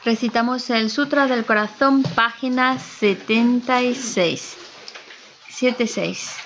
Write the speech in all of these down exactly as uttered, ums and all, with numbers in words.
Recitamos el Sutra del Corazón, página setenta y seis. setenta y seis.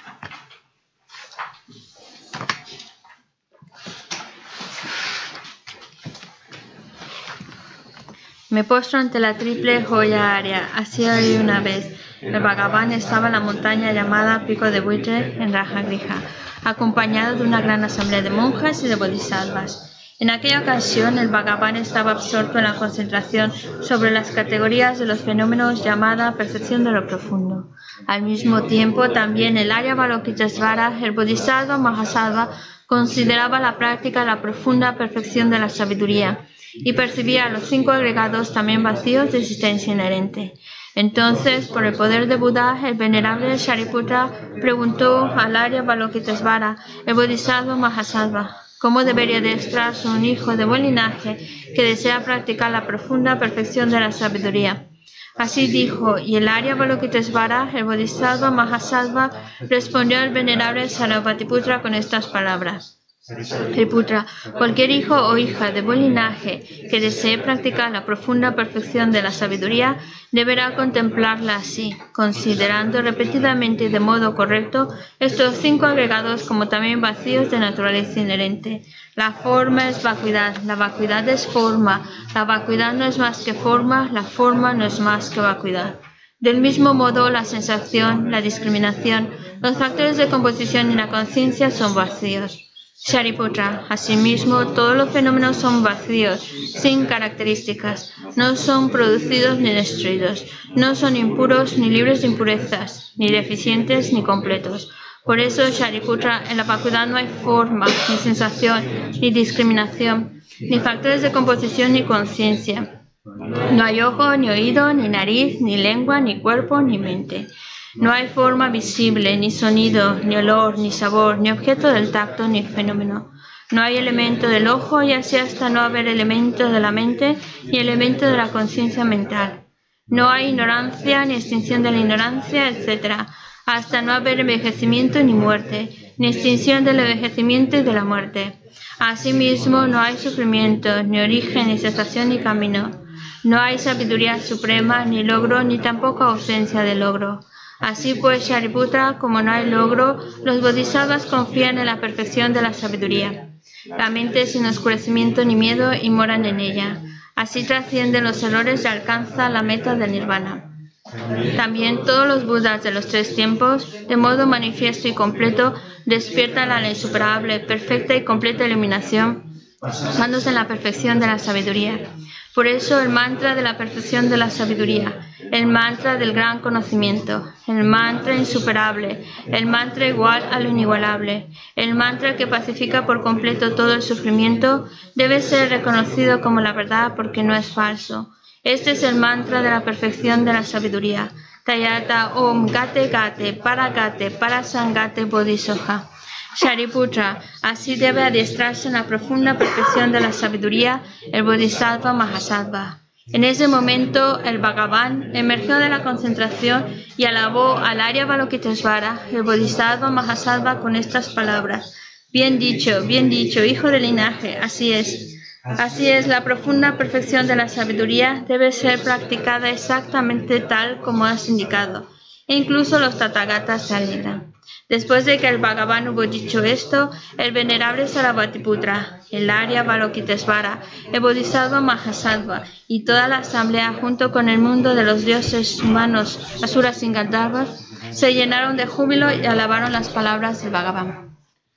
Me postro ante la triple joya área. Así hoy una vez. El Bhagavan estaba en la montaña llamada Pico de Buitre, en Rajagriha, acompañado de una gran asamblea de monjas y de bodhisattvas. En aquella ocasión, el Bhagavan estaba absorto en la concentración sobre las categorías de los fenómenos llamada percepción de lo profundo. Al mismo tiempo, también el Arya Avalokitesvara, el Bodhisattva Mahasattva, consideraba la práctica la profunda perfección de la sabiduría y percibía a los cinco agregados también vacíos de existencia inherente. Entonces, por el poder de Buda, el venerable Shariputra preguntó al Arya Avalokitesvara, el Bodhisattva Mahasattva, cómo debería adiestrarse un hijo de buen linaje que desea practicar la profunda perfección de la sabiduría. Así dijo, y el Arya Avalokitesvara, el Bodhisattva Mahasattva, respondió al venerable Sarvatiputra con estas palabras. Shariputra, cualquier hijo o hija de buen linaje que desee practicar la profunda perfección de la sabiduría deberá contemplarla así, considerando repetidamente y de modo correcto estos cinco agregados como también vacíos de naturaleza inherente. La forma es vacuidad, la vacuidad es forma, la vacuidad no es más que forma, la forma no es más que vacuidad. Del mismo modo, la sensación, la discriminación, los factores de composición y la conciencia son vacíos. Shariputra, asimismo, todos los fenómenos son vacíos, sin características, no son producidos ni destruidos, no son impuros ni libres de impurezas, ni deficientes ni completos. Por eso, Shariputra, en la vacuidad no hay forma, ni sensación, ni discriminación, ni factores de composición ni conciencia. No hay ojo, ni oído, ni nariz, ni lengua, ni cuerpo, ni mente. No hay forma visible, ni sonido, ni olor, ni sabor, ni objeto del tacto, ni fenómeno. No hay elemento del ojo y así hasta no haber elemento de la mente ni elemento de la conciencia mental. No hay ignorancia, ni extinción de la ignorancia, etcétera, hasta no haber envejecimiento ni muerte, ni extinción del envejecimiento y de la muerte. Asimismo, no hay sufrimiento, ni origen, ni cesación, ni camino. No hay sabiduría suprema, ni logro, ni tampoco ausencia de logro. Así pues, Shariputra, como no hay logro, los bodhisattvas confían en la perfección de la sabiduría. La mente sin oscurecimiento ni miedo y moran en ella. Así trascienden los errores y alcanza la meta del nirvana. También todos los budas de los tres tiempos, de modo manifiesto y completo, despiertan a la insuperable, perfecta y completa iluminación, basándose en la perfección de la sabiduría. Por eso el mantra de la perfección de la sabiduría, el mantra del gran conocimiento, el mantra insuperable, el mantra igual a lo inigualable, el mantra que pacifica por completo todo el sufrimiento, debe ser reconocido como la verdad porque no es falso. Este es el mantra de la perfección de la sabiduría. Tayata Om Gate Gate Paragate Parasangate Bodhisoha. Shariputra, así debe adiestrarse en la profunda perfección de la sabiduría el Bodhisattva Mahasattva. En ese momento, el Bhagavan emergió de la concentración y alabó al Arya Avalokitesvara, el Bodhisattva Mahasattva, con estas palabras. Bien dicho, bien dicho, hijo del linaje, así es. Así es, la profunda perfección de la sabiduría debe ser practicada exactamente tal como has indicado. E incluso los Tathagatas se alegran. Después de que el Bhagavan hubo dicho esto, el venerable Sarvatiputra, el Arya Avalokitesvara, el Bodhisattva Mahasattva y toda la asamblea junto con el mundo de los dioses humanos, asuras y gandharvas, se llenaron de júbilo y alabaron las palabras del Bhagavan.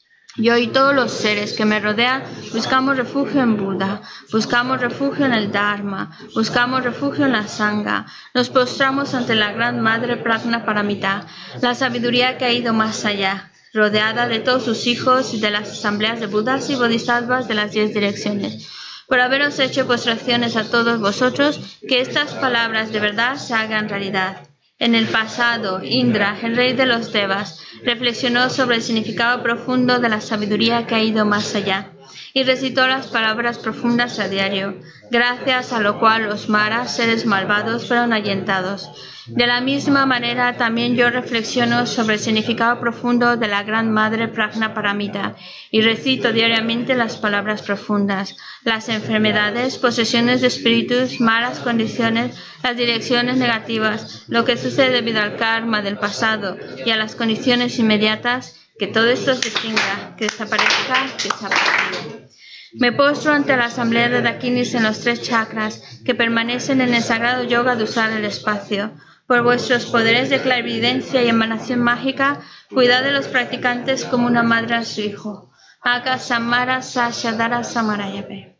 Yo y todos los seres que me rodean buscamos refugio en Buda, buscamos refugio en el Dharma, buscamos refugio en la Sangha, nos postramos ante la gran Madre Prajna Paramita, la sabiduría que ha ido más allá, rodeada de todos sus hijos y de las asambleas de Budas y Bodhisattvas de las diez direcciones. Por haberos hecho postraciones a todos vosotros, que estas palabras de verdad se hagan realidad. En el pasado, Indra, el rey de los Devas, reflexionó sobre el significado profundo de la sabiduría que ha ido más allá. y recitó las palabras profundas a diario, gracias a lo cual los maras, seres malvados, fueron ahuyentados. De la misma manera, también yo reflexiono sobre el significado profundo de la Gran Madre Prajna Paramita y recito diariamente las palabras profundas. Las enfermedades, posesiones de espíritus, malas condiciones, las direcciones negativas, lo que sucede debido al karma del pasado y a las condiciones inmediatas, que todo esto se extinga, que desaparezca, que desaparezca. Me postro ante la asamblea de Dakinis en los tres chakras que permanecen en el sagrado yoga de usar el espacio. Por vuestros poderes de clarividencia y emanación mágica, cuidad de los practicantes como una madre a su hijo. Aka Samara Sashadara Samarayape.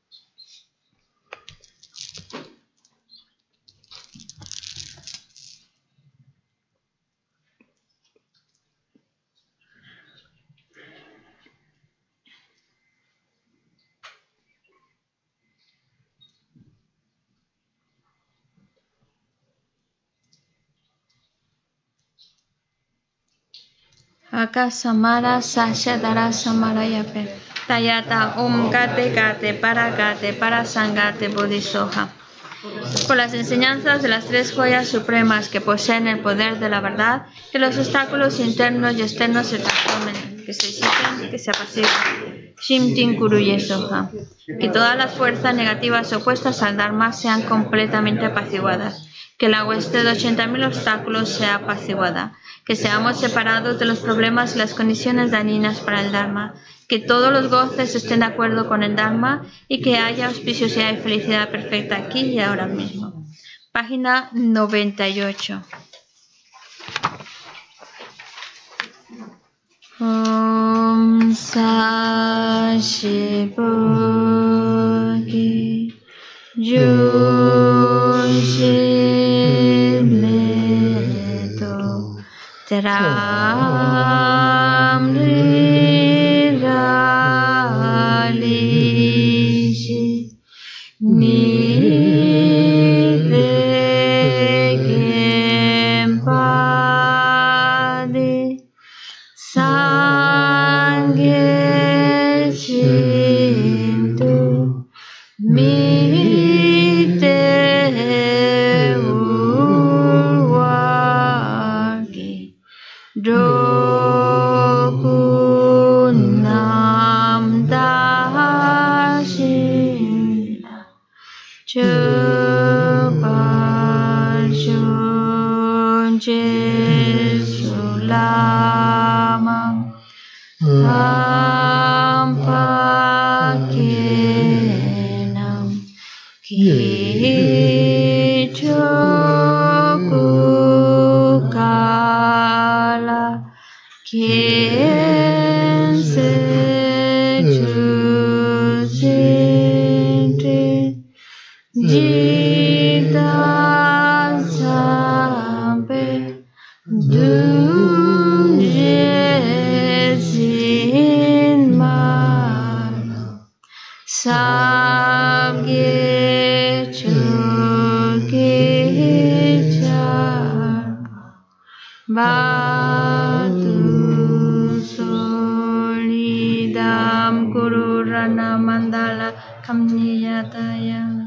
Aka Samara Sashadara Samarayape. Tayata Om Gate Gate Para Gate Para Sangate Bodhisoha. Por las enseñanzas de las tres joyas supremas que poseen el poder de la verdad, que los obstáculos internos y externos se transformen, que se disipen, que se apaciguen. Shimtin Kuruye Soha. Que todas las fuerzas negativas opuestas al Dharma sean completamente apaciguadas. Que la hueste de ochenta mil obstáculos sea apaciguada. Que seamos separados de los problemas y las condiciones dañinas para el Dharma. Que todos los goces estén de acuerdo con el Dharma y que haya auspiciosidad y felicidad perfecta aquí y ahora mismo. Página noventa y ocho. Om Sashibhogi Yoshimleto Teram Liralishi Nidegempadi Sangye Shintu Mite Urwaki Dokunam Dashina Chupashun Jesulamam Ampakenam Kichokukala Kiense Chusinti Jita Sampe Dujesin Mano Samgye Chukichan Batu Solidam Kururana Mandala Kamniyatayami.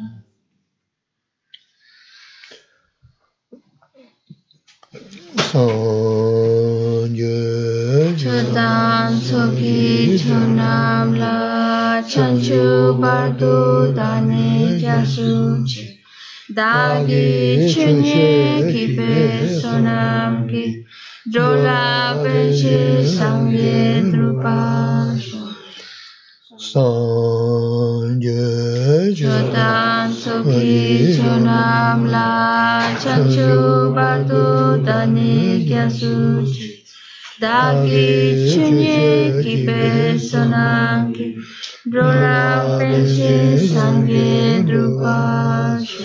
Chodan Soki Chonam La Chanchu Bardu Dani Kyasuchi Dagi Chunye Kipe Sonam Ki Jola Peche Sangye Drupasho Chodan Soki Chonam La Chanchu Bardu Dani Kyasuchi Dagi Chunye Kipe Sonam Ki Jola Peche Sangye Drupasho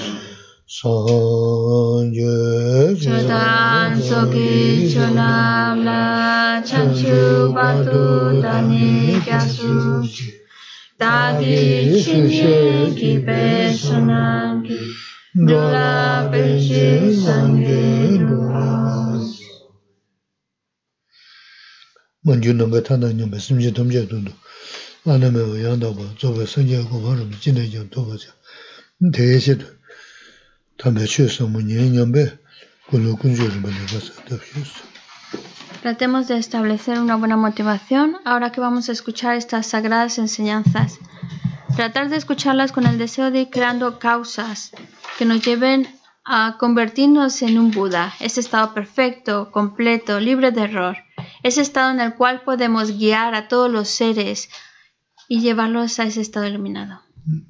Chodan Soki Chonam La Chanchu Bardu Dani Kyasuchi Dagi Chunye Kipe Sonam Ki Jola Peche Sangye Drupasho. Manju number Tana number Simji Domja Dundu. 나는 뭐 양도 뭐 저거 선제고 뭐는 진행 좀 도와줘. 대세도 담배 취해서 뭐 년년배 그걸로 군주를 만들어서 됐어. Tratemos de establecer una buena motivación ahora que vamos a escuchar estas sagradas enseñanzas. Tratar de escucharlas con el deseo de ir creando causas que nos lleven a convertirnos en un Buda, ese estado perfecto, completo, libre de error, ese estado en el cual podemos guiar a todos los seres y llevarlos a ese estado iluminado.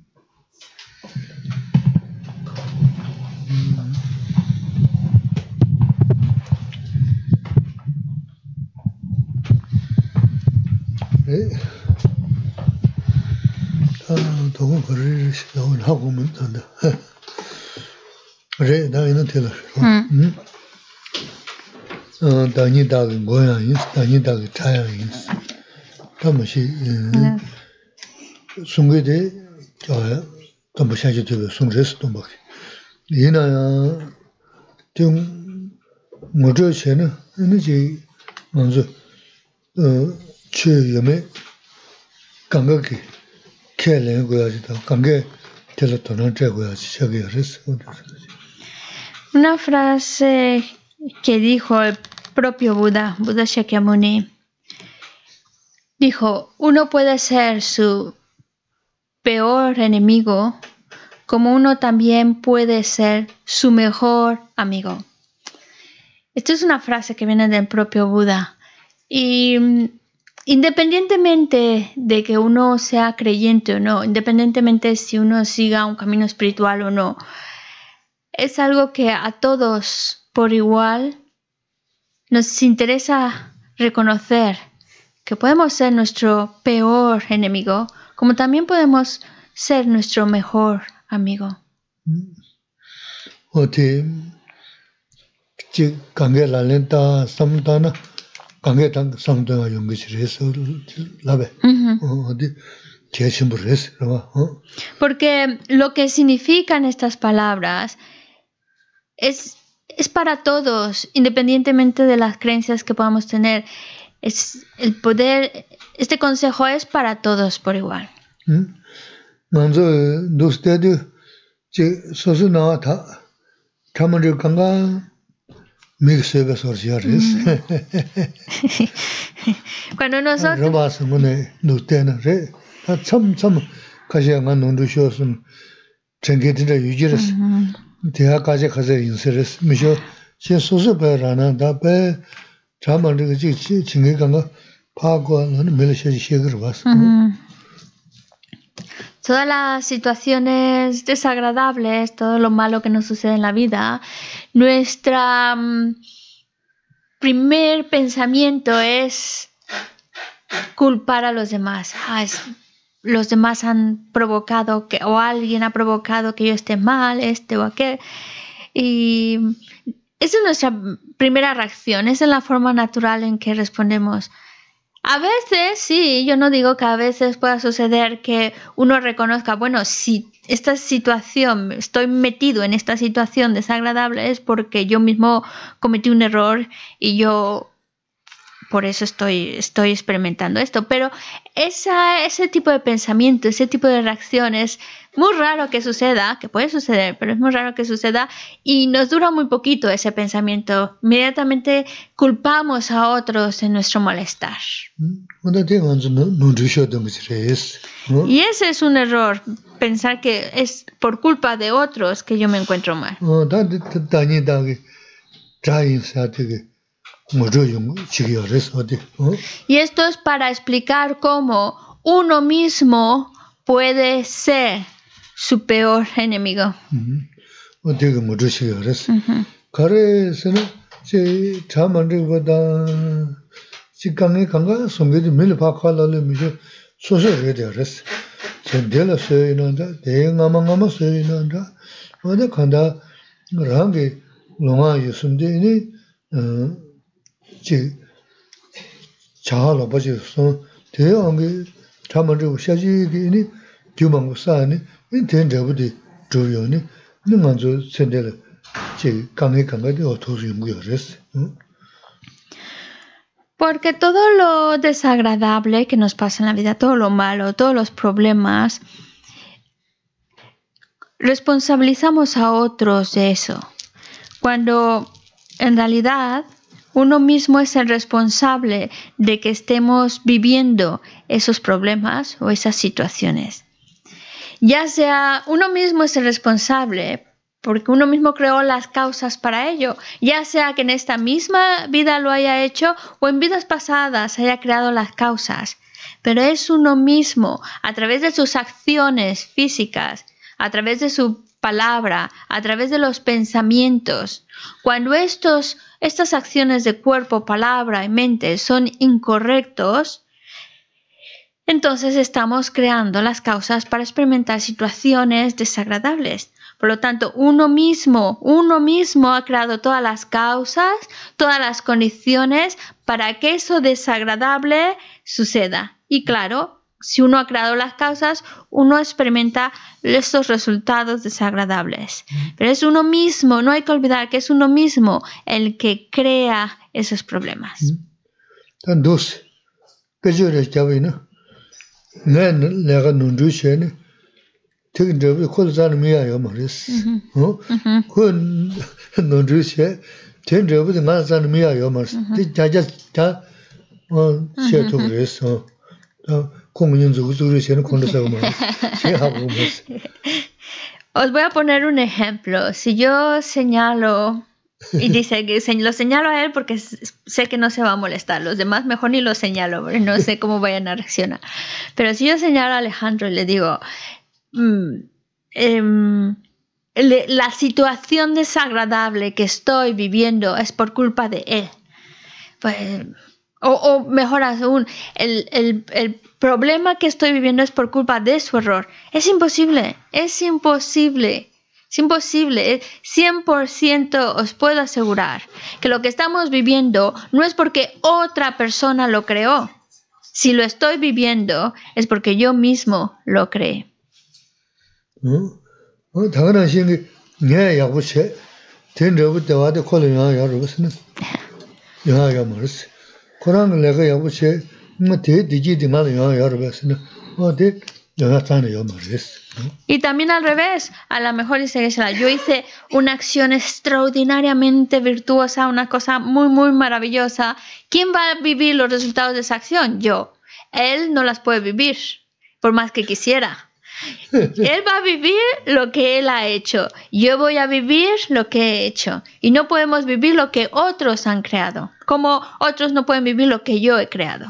네. 아, 도구 거를 시도는 하고 면 된다. 그래, 나 이는 tello. 음. 어, 다니다 뭐야, 이 다니다 차야 있어. 담시 송게데 저야 좀 샤지 되고 송제스도 막. 이나야 좀 뭐저 쟤는 이제 먼저 어, 최염에 감각이 개는 거야지도 감게 teleto는 제거야지 저기 그랬어. Una frase que dijo el propio Buda, Buda Shakyamuni, dijo, uno puede ser su peor enemigo, como uno también puede ser su mejor amigo. Esto es una frase que viene del propio Buda. Y independientemente de que uno sea creyente o no, independientemente si uno siga un camino espiritual o no, es algo que a todos por igual nos interesa reconocer que podemos ser nuestro peor enemigo, como también podemos ser nuestro mejor amigo. 어디 지 관계 랄렌타 삼다나 관계 당 삼다가 연구실 해서 라베 어디 계신분 했어 어 Porque lo que significan estas palabras es es para todos, independientemente de las creencias que podamos tener. Es el poder, este consejo es para todos por igual. 먼저 노스테드 제 소소나타 참을 건가 믹스가 소리야레스 Cuando nosotros 로바스문에 노테나레 참참 가시가 논두쇼스 챙게들 유지레스 대학까지 가서 인서레스 미쇼 제 소소베라나 다베 참을 그 챙게간가 파고는 멜셔지 시그르 봤어. Todas las situaciones desagradables, todo lo malo que nos sucede en la vida, nuestro um, primer pensamiento es culpar a los demás. Ah, es, los demás han provocado que, o alguien ha provocado que yo esté mal, este o aquel. Y esa es nuestra primera reacción, esa es la forma natural en que respondemos. A veces, sí, yo no digo que a veces pueda suceder que uno reconozca, bueno, si esta situación, estoy metido en esta situación desagradable es porque yo mismo cometí un error y yo por eso estoy, estoy experimentando esto. Pero esa, ese tipo de pensamiento, ese tipo de reacción es muy raro que suceda, que puede suceder, pero es muy raro que suceda y nos dura muy poquito ese pensamiento. Inmediatamente culpamos a otros en nuestro malestar. Y ese es un error, pensar que es por culpa de otros que yo me encuentro mal. Y esto es para explicar cómo uno mismo puede ser su peor enemigo. 자하로 버지 손 대왕이 참아주고 샤지기니 규망고 사니 인텐저부디 조요니 능만조 센데를 제 강에 강가데 어토스 연구였어. Porque todo lo desagradable que nos pasa en la vida, todo lo malo, todos los problemas, responsabilizamos a otros de eso. Cuando en realidad uno mismo es el responsable de que estemos viviendo esos problemas o esas situaciones. Ya sea uno mismo es el responsable porque uno mismo creó las causas para ello, ya sea que en esta misma vida lo haya hecho o en vidas pasadas haya creado las causas. Pero es uno mismo, a través de sus acciones físicas, a través de su palabra, a través de los pensamientos. Cuando estos, estas acciones de cuerpo, palabra y mente son incorrectos, entonces estamos creando las causas para experimentar situaciones desagradables. Por lo tanto, uno mismo, uno mismo ha creado todas las causas, todas las condiciones para que eso desagradable suceda. Y claro, si uno ha creado las causas, uno experimenta estos resultados desagradables. Pero es uno mismo, no hay que olvidar que es uno mismo el que crea esos problemas. Entonces, ¿qué yo les llamo, no? No, no, no, no, Tiene que ser mía yo maris, ¿no? Con no dice, tiene que ser mía yo maris. Ya ya ya, oh, cierto que eso. Como yo no uso ese no conoce más. Sí, hago más. Os voy a poner un ejemplo. Si yo señalo y dice que lo señalo a él porque sé que no se va a molestar. Los demás mejor ni lo señalo, porque no sé cómo vayan a reaccionar. Pero si yo señalo a Alejandro y le digo, Mm, eh, le, la situación desagradable que estoy viviendo es por culpa de él. Pues, o, o mejor aún, el, el, el problema que estoy viviendo es por culpa de su error. Es imposible, es imposible, es imposible. cien por ciento os puedo asegurar que lo que estamos viviendo no es porque otra persona lo creó. Si lo estoy viviendo es porque yo mismo lo creé. 어, 당연한 신이 내 야구체 된저부터 와도 콜이야 야르스는 야야 말스 그런 내가 야구체 뭐 대디지디 말이야 야르스는 어디 내가 타는 요 말스. Y también al revés, a lo mejor dice que yo hice una acción extraordinariamente virtuosa, una cosa muy muy maravillosa. ¿Quién va a vivir los resultados de esa acción? Yo. Él no las puede vivir, por más que quisiera. Él va a vivir lo que él ha hecho. Yo voy a vivir lo que he hecho. Y no podemos vivir lo que otros han creado. Como otros no pueden vivir lo que yo he creado.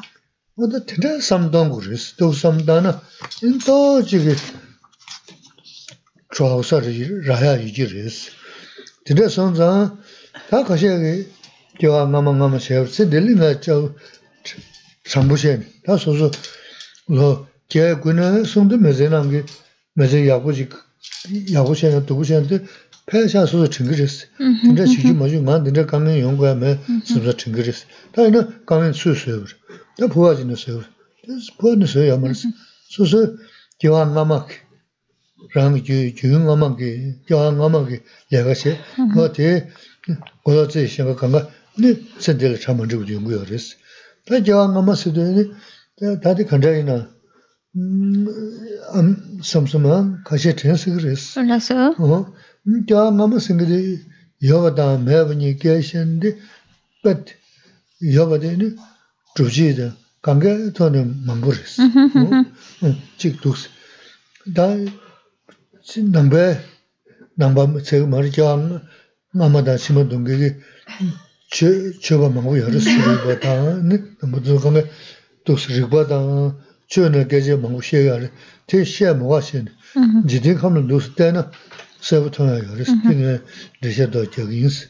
que kuna sonde mezenangi meze yabuji yabushena dubushente 패샤 소소 증거했어. 근데 지금 뭐지? 만 근데 강면 연구야 매 소소 증거했어. 다이는 강면 수수요. 다 보아지는 수요. 그래서 보는 수요 말스. 소소 교환 남막 랑지 주용 남막이 교환 남막이 내가시 뭐대 고려지 생각한가 네 선들 참은 적 연구요 그랬어. 다 교환 남막스도 다들 간다이나 음, 삼삼한 가시 텐스 그랬어. 그래서 어, 저 아마 생각이 여가다 매번이 계신데, but 여가되는 주지다. 관계 돈은 망부랬어. 어, 직독스. 다 남배 남바 제가 말이죠. 아마다 심은 동객이 저 저가 망고 열었어요. 보다는 모두 가면 독스릭보다 저는 계제 먹고 쉬어야 대시에 먹었신. 지금 가면 누스 때는 세부터야 그래서 그냥 되셔도 저기스.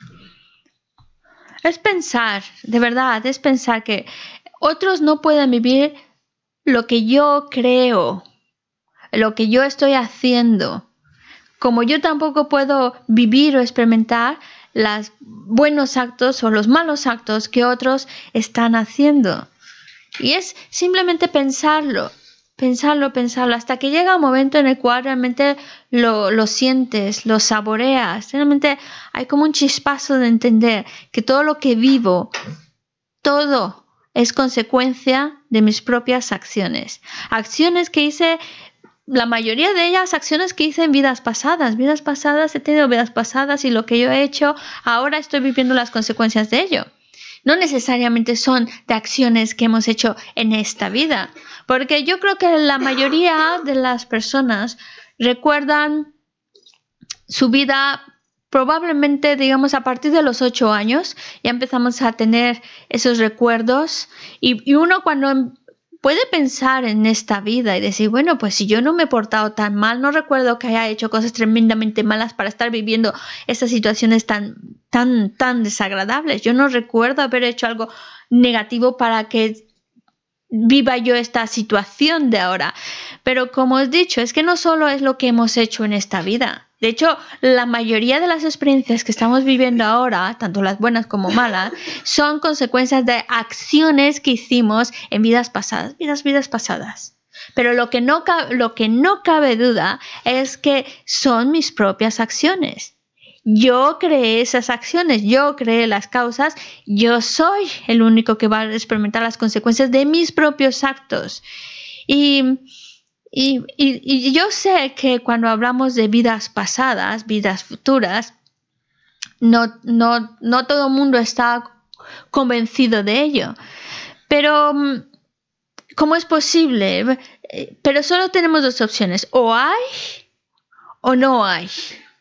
Es pensar, de verdad, es pensar que otros no pueden vivir lo que yo creo, lo que yo estoy haciendo. Como yo tampoco puedo vivir o experimentar los buenos actos o los malos actos que otros están haciendo. Y es simplemente pensarlo, pensarlo, pensarlo, hasta que llega un momento en el cual realmente lo, lo sientes, lo saboreas. Realmente hay como un chispazo de entender que todo lo que vivo todo es consecuencia de mis propias acciones. Acciones que hice, la mayoría de ellas, acciones que hice en vidas pasadas. Vidas pasadas, he tenido vidas pasadas y lo que yo he hecho, ahora estoy viviendo las consecuencias de ello. No necesariamente son de acciones que hemos hecho en esta vida. Porque yo creo que la mayoría de las personas recuerdan su vida probablemente, digamos, a partir de los ocho años. Ya empezamos a tener esos recuerdos. Y, y uno cuando puede pensar en esta vida y decir, bueno, pues si yo no me he portado tan mal, no recuerdo que haya hecho cosas tremendamente malas para estar viviendo estas situaciones tan, tan, tan desagradables. Yo no recuerdo haber hecho algo negativo para que viva yo esta situación de ahora. Pero como os he dicho, es que no solo es lo que hemos hecho en esta vida. De hecho, la mayoría de las experiencias que estamos viviendo ahora, tanto las buenas como malas, son consecuencias de acciones que hicimos en vidas pasadas, vidas, vidas pasadas. Pero lo que no, lo que no cabe duda es que son mis propias acciones. Yo creé esas acciones, yo creé las causas, yo soy el único que va a experimentar las consecuencias de mis propios actos. Y... Y, y, y yo sé que cuando hablamos de vidas pasadas, vidas futuras, no, no, no todo el mundo está convencido de ello. Pero, ¿cómo es posible? Pero solo tenemos dos opciones. O hay o no hay.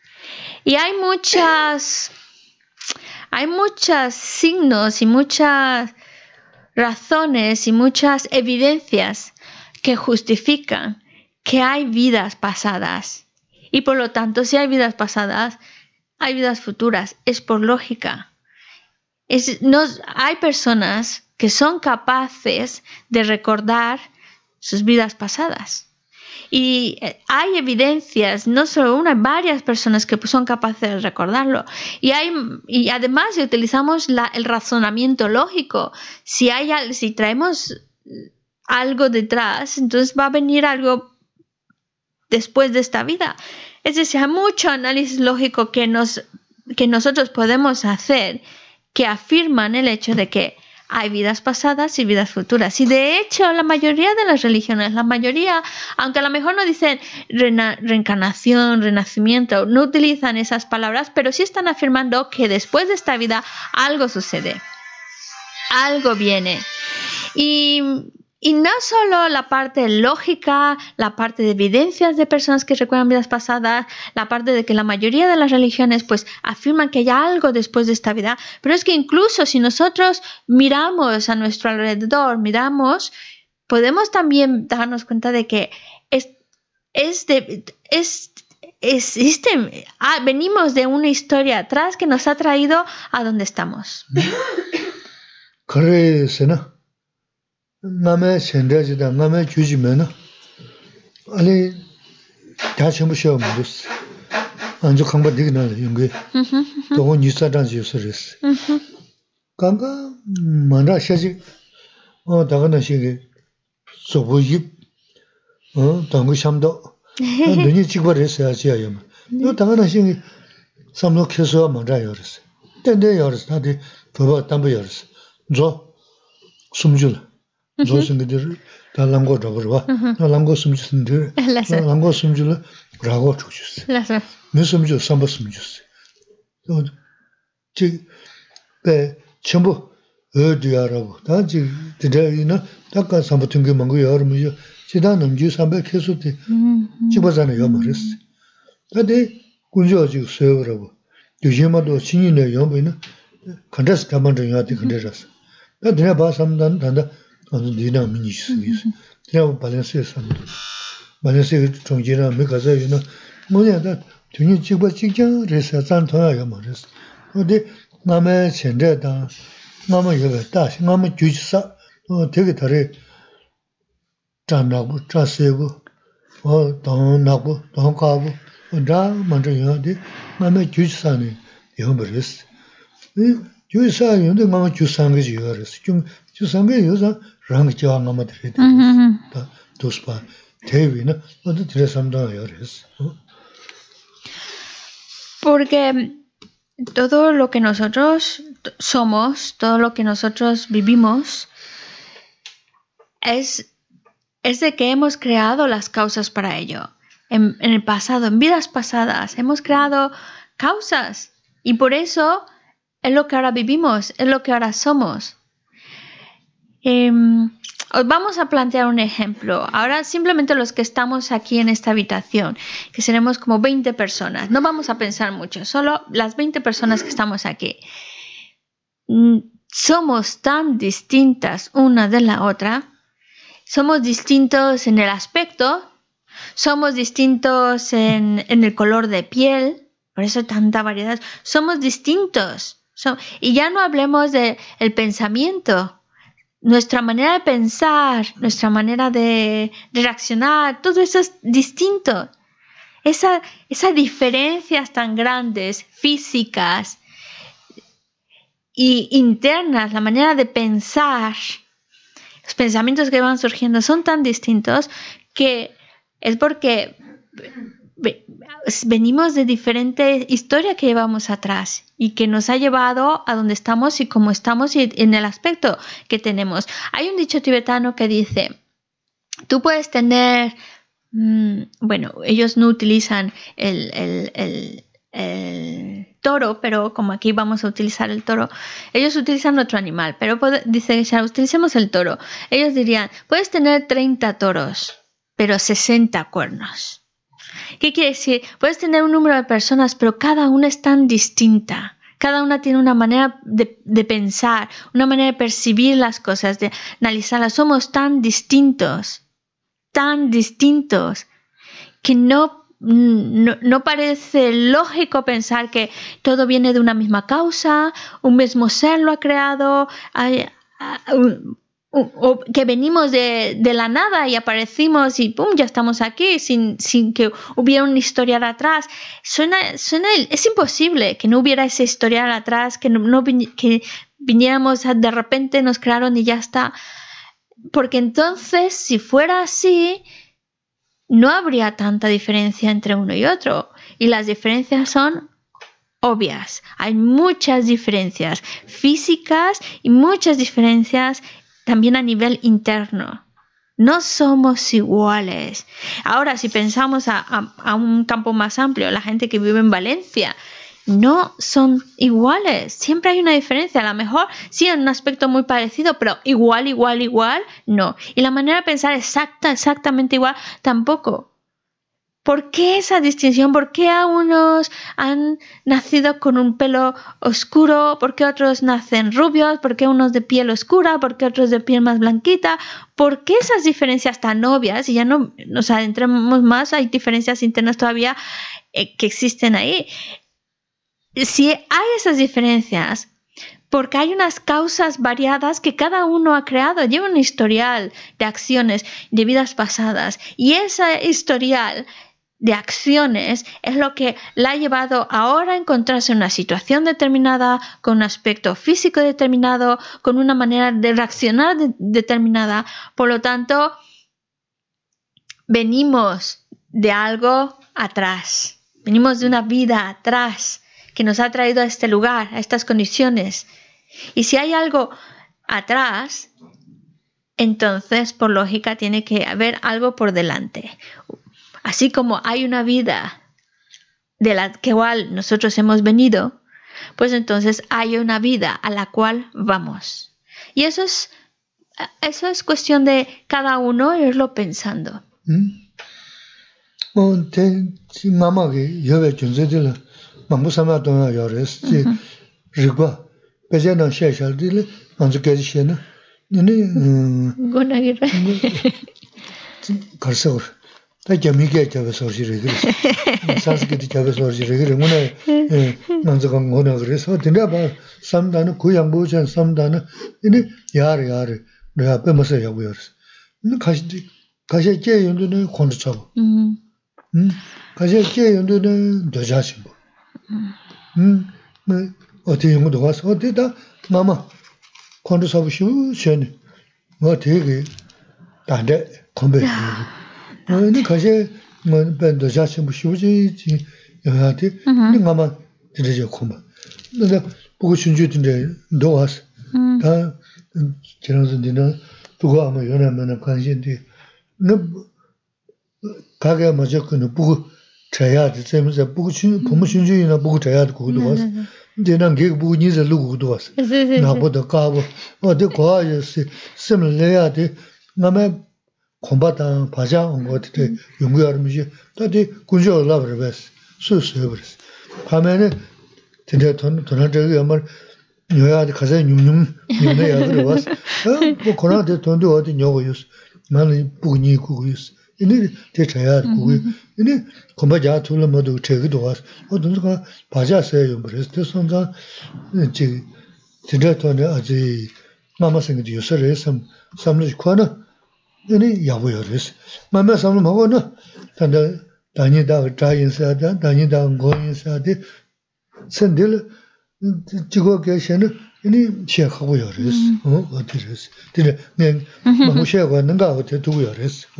Y hay muchas, hay muchos signos y muchas razones y muchas evidencias que justifican que hay vidas pasadas. Y por lo tanto, si hay vidas pasadas, hay vidas futuras. Es por lógica. Es, no, hay personas que son capaces de recordar sus vidas pasadas. Y hay evidencias, no solo una, varias personas que son capaces de recordarlo. Y, hay, y además, si utilizamos la, el razonamiento lógico, si, hay, si traemos algo detrás, entonces va a venir algo después de esta vida. Es decir, hay mucho análisis lógico que, nos, que nosotros podemos hacer que afirman el hecho de que hay vidas pasadas y vidas futuras. Y de hecho, la mayoría de las religiones, la mayoría, aunque a lo mejor no dicen re- reencarnación, renacimiento, no utilizan esas palabras, pero sí están afirmando que después de esta vida algo sucede, algo viene. Y... Y no solo la parte lógica, la parte de evidencias de personas que recuerdan vidas pasadas, la parte de que la mayoría de las religiones pues afirman que hay algo después de esta vida, pero es que incluso si nosotros miramos a nuestro alrededor, miramos, podemos también darnos cuenta de que es, es de, es, existe, ah, venimos de una historia atrás que nos ha traído a donde estamos. Ngame sendajida ngame jujimena ale 다시무 쇼 무스 안주 강바 되기나 용게 또 니사 단지 요소레스 강가 만라 샤지 어 다가나 시게 소보입 어 당고 샴도 눈이 찍버렸어야 지야요 또 다가나 시게 삼로 켜서 만라 요르스 근데 요르스 다들 더 담보 요르스 저 숨줄 조선들이 달랑고 잡으러 달랑고 숨지는데 달랑고 숨줄 라고 주셨어. 라서. 무슨 숨줄 삼바 숨줬어. 저배 전부 어디야라고. 다지 드려이나 딱가 삼부튼 게 뭔가 여러분이 지단 넘지 삼백 계속돼. 집어잖아요, 말했어. 근데 군조지 세우라고. 요즘에도 신인의 연구는 컨테스트 한번 정해야지 컨테스트. 나 내가 봐 삼단 단다 아주 디나믹이 있어요. 제가 밸런스에서 밸런스 정지나 메가서 이나 뭐냐다 돈이 찍고 찍자 그래서 잔통하게 말했어. 근데 남의 현재다 남의 여기 다시 남의 주지사 어 되게 다르 잔나고 자세고 어 돈나고 돈가고 다 먼저 해야 돼. 남의 주지사네 이거 말했어. 이 주지사 연대 남의 주상게 지어랬어. 좀 주상게 요사 rang jiwa ngama dhiri dhiri ta dospa tewi na dhiri samdanga yoris. Porque todo lo que nosotros somos, todo lo que nosotros vivimos, es, es de que hemos creado las causas para ello. En, en el pasado, en vidas pasadas, hemos creado causas y por eso es lo que ahora vivimos, es lo que ahora somos. Eh, os vamos a plantear un ejemplo. Ahora simplemente los que estamos aquí en esta habitación, que seremos como veinte personas. No vamos a pensar mucho, solo las veinte personas que estamos aquí. Somos tan distintas una de la otra. Somos distintos en el aspecto, somos distintos en, en el color de piel, por eso tanta variedad. Somos distintos. So, y ya no hablemos del pensamiento. Nuestra manera de pensar, nuestra manera de, de reaccionar, todo eso es distinto. Esa, esas diferencias tan grandes, físicas y internas, la manera de pensar, los pensamientos que van surgiendo son tan distintos que es porque venimos de diferente historia que llevamos atrás y que nos ha llevado a donde estamos y cómo estamos y en el aspecto que tenemos. Hay un dicho tibetano que dice, tú puedes tener, mmm, bueno, ellos no utilizan el, el, el, el toro, pero como aquí vamos a utilizar el toro, ellos utilizan otro animal, pero puede, dice, ya utilicemos el toro. Ellos dirían, puedes tener treinta toros, pero sesenta cuernos. ¿Qué quiere decir? Puedes tener un número de personas, pero cada una es tan distinta. Cada una tiene una manera de, de pensar, una manera de percibir las cosas, de analizarlas. Somos tan distintos, tan distintos, que no, no, no parece lógico pensar que todo viene de una misma causa, un mismo ser lo ha creado, hay, un, o que venimos de, de la nada y aparecimos y pum, ya estamos aquí sin, sin que hubiera una historia de atrás. Suena, suena, es imposible que no hubiera esa historia de atrás, que, no, no, que viniéramos de repente, nos crearon y ya está. Porque entonces, si fuera así, no habría tanta diferencia entre uno y otro. Y las diferencias son obvias. Hay muchas diferencias físicas y muchas diferencias también a nivel interno. No somos iguales. Ahora, si pensamos a, a, a un campo más amplio, la gente que vive en Valencia, no son iguales. Siempre hay una diferencia. A lo mejor sí en un aspecto muy parecido, pero igual, igual, igual, no. Y la manera de pensar exacta, exactamente igual, tampoco. ¿Por qué esa distinción? ¿Por qué a unos han nacido con un pelo oscuro? ¿Por qué otros nacen rubios? ¿Por qué unos de piel oscura? ¿Por qué otros de piel más blanquita? ¿Por qué esas diferencias tan obvias? Y ya no nos adentremos más, hay diferencias internas todavía eh, que existen ahí. Si hay esas diferencias, porque hay unas causas variadas que cada uno ha creado, lleva un historial de acciones de vidas pasadas, y ese historial de acciones es lo que la ha llevado ahora a encontrarse en una situación determinada, con un aspecto físico determinado, con una manera de reaccionar de- determinada. Por lo tanto, venimos de algo atrás, venimos de una vida atrás que nos ha traído a este lugar, a estas condiciones. Y si hay algo atrás, entonces, por lógica, tiene que haber algo por delante. Así como hay una vida de la cual nosotros hemos venido, pues entonces hay una vida a la cual vamos. Y eso es, eso es cuestión de cada uno irlo pensando. ¿Mm? Oh, te, si mamá que yo ve junce de la, mamá sama dona yores, si rigua, pese na she shal de le, manzo que she na, ne, Guna gira. karsor. Ta jami ke jabe sorji regre. Sanskrit jabe sorji regre, mona manzo kan gona gre, so tinda ba samdana kuyang bu chen samdana, ne yar yar, ne pe masa ya yores. Ne kashi kashi ke yundu ne khond chabo. 음, 가서 제연도는 도자신 뭐. 음, 뭐 어디 연구도 가서 어디다 마마 콘도 사부시오 쉔. 뭐 되게 단데 컴베. 뭐 가서 뭐 벤도 자신 뭐 쉬우지 여하데 네 마마 들으죠 컴바. 근데 보고 준주든데 도와서 다 지나서는 누가 아마 연하면 관심이 너 가게 먼저 그는 보고 자야 돼. 재면서 보고 준 보면 준주이나 보고 자야 돼. 그것도 와서 이제 난 게 보고 니서 누구도 왔어. 나보다 가고 어디 거야지 심을래야 돼. 나만 공부다 바자 온 것들 연구하면서 다들 군주 올라버렸어. 수수해버렸어. 가면은 진짜 돈 돈한 적이 아마 여야한테 가서 뇽뇽 뇽내야 그래 왔어. 뭐 그런데 돈도 어디 녀고였어. 나는 부니 구구였어. 이네 대차야 구구. 이네 공부자 둘러 모두 제기도 왔어. 어 돈가 바자서요. 그래서 선자 이제 진짜 돈에 아직 마마 생각이 요소를 섬 섬을 거나 이네 야고요. 그래서 마마 섬을 먹어나 단다 다니다 자인사다 다니다 고인사데 선들 지고 계시는 이니 시작하고요. 그래서 어 어디서 근데 내 뭐 시작하고 있는가 어떻게 두고요. 그래서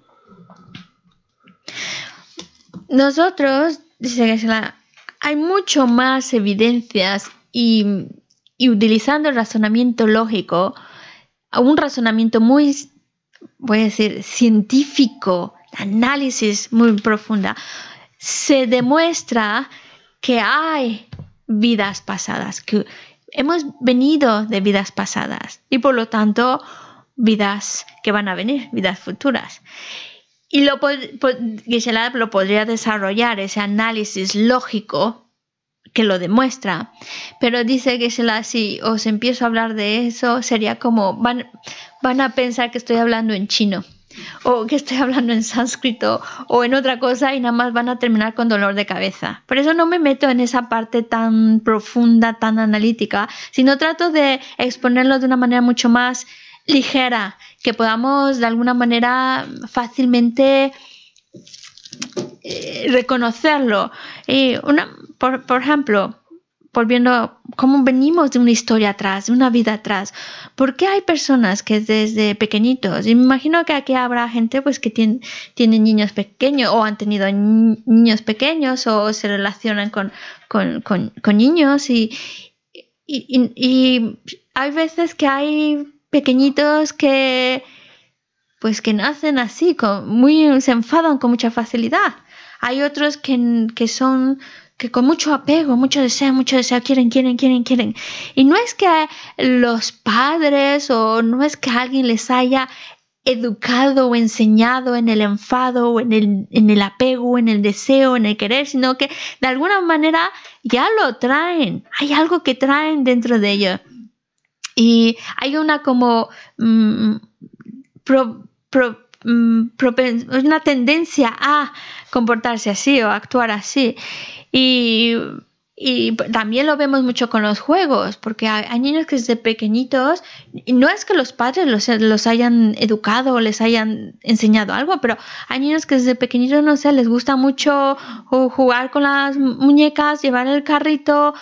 Nosotros, dice Geshe-la, hay mucho más evidencias y, y utilizando el razonamiento lógico, un razonamiento muy, voy a decir, científico, análisis muy profunda, se demuestra que hay vidas pasadas, que hemos venido de vidas pasadas y por lo tanto vidas que van a venir, vidas futuras. Y lo, Geshe-la lo podría desarrollar, ese análisis lógico que lo demuestra. Pero dice Geshe-la, si os empiezo a hablar de eso, sería como, van, van a pensar que estoy hablando en chino, o que estoy hablando en sánscrito, o en otra cosa, y nada más van a terminar con dolor de cabeza. Por eso no me meto en esa parte tan profunda, tan analítica, sino trato de exponerlo de una manera mucho más ligera, que podamos de alguna manera fácilmente eh, reconocerlo. Y una, por, por ejemplo, volviendo, cómo venimos de una historia atrás, de una vida atrás. ¿Por qué hay personas que desde pequeñitos, y me imagino que aquí habrá gente pues que tiene, tienen niños pequeños o han tenido ni- niños pequeños o se relacionan con, con, con, con niños y, y, y, y hay veces que hay pequeñitos que pues que nacen así, con, muy, se enfadan con mucha facilidad. Hay otros que, que son que con mucho apego, mucho deseo, mucho deseo, quieren, quieren, quieren, quieren. Y no es que los padres o no es que alguien les haya educado o enseñado en el enfado o en el, en el apego, en el deseo, en el querer, sino que de alguna manera ya lo traen. Hay algo que traen dentro de ellos. Y hay una como mmm, pro, pro, mmm, propen, una tendencia a comportarse así o actuar así. Y, y también lo vemos mucho con los juegos, porque hay, hay niños que desde pequeñitos, y no es que los padres los, los hayan educado o les hayan enseñado algo, pero hay niños que desde pequeñitos, no sé, les gusta mucho jugar con las muñecas, llevar el carrito.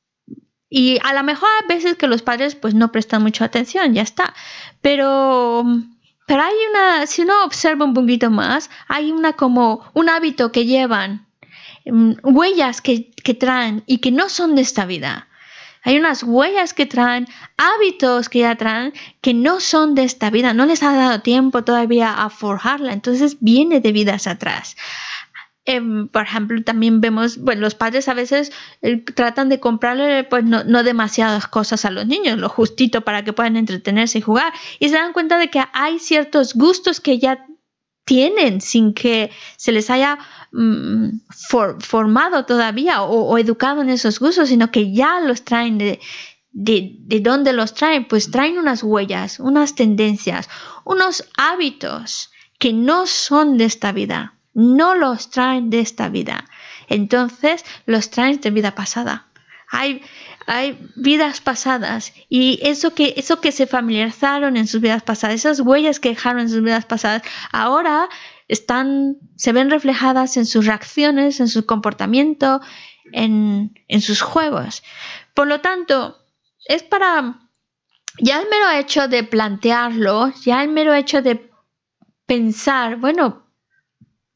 Y a lo mejor hay veces que los padres pues no prestan mucha atención, ya está. Pero, pero hay una, si uno observa un poquito más, hay una como un hábito que llevan, um, huellas que, que traen y que no son de esta vida. Hay unas huellas que traen, hábitos que ya traen, que no son de esta vida. No les ha dado tiempo todavía a forjarla. Entonces viene de vidas atrás. Eh, por ejemplo, también vemos, bueno, los padres a veces eh, tratan de comprarle pues no, no demasiadas cosas a los niños, lo justito para que puedan entretenerse y jugar, y se dan cuenta de que hay ciertos gustos que ya tienen sin que se les haya mm, for, formado todavía o, o educado en esos gustos, sino que ya los traen de, de, de dónde los traen, pues traen unas huellas, unas tendencias, unos hábitos que no son de esta vida. No los traen de esta vida. Entonces los traen de vida pasada. Hay, hay vidas pasadas y eso que, eso que se familiarizaron en sus vidas pasadas, esas huellas que dejaron en sus vidas pasadas, ahora están, se ven reflejadas en sus reacciones, en su comportamiento, en, en sus juegos. Por lo tanto, es para, ya el mero hecho de plantearlo, ya el mero hecho de pensar, bueno,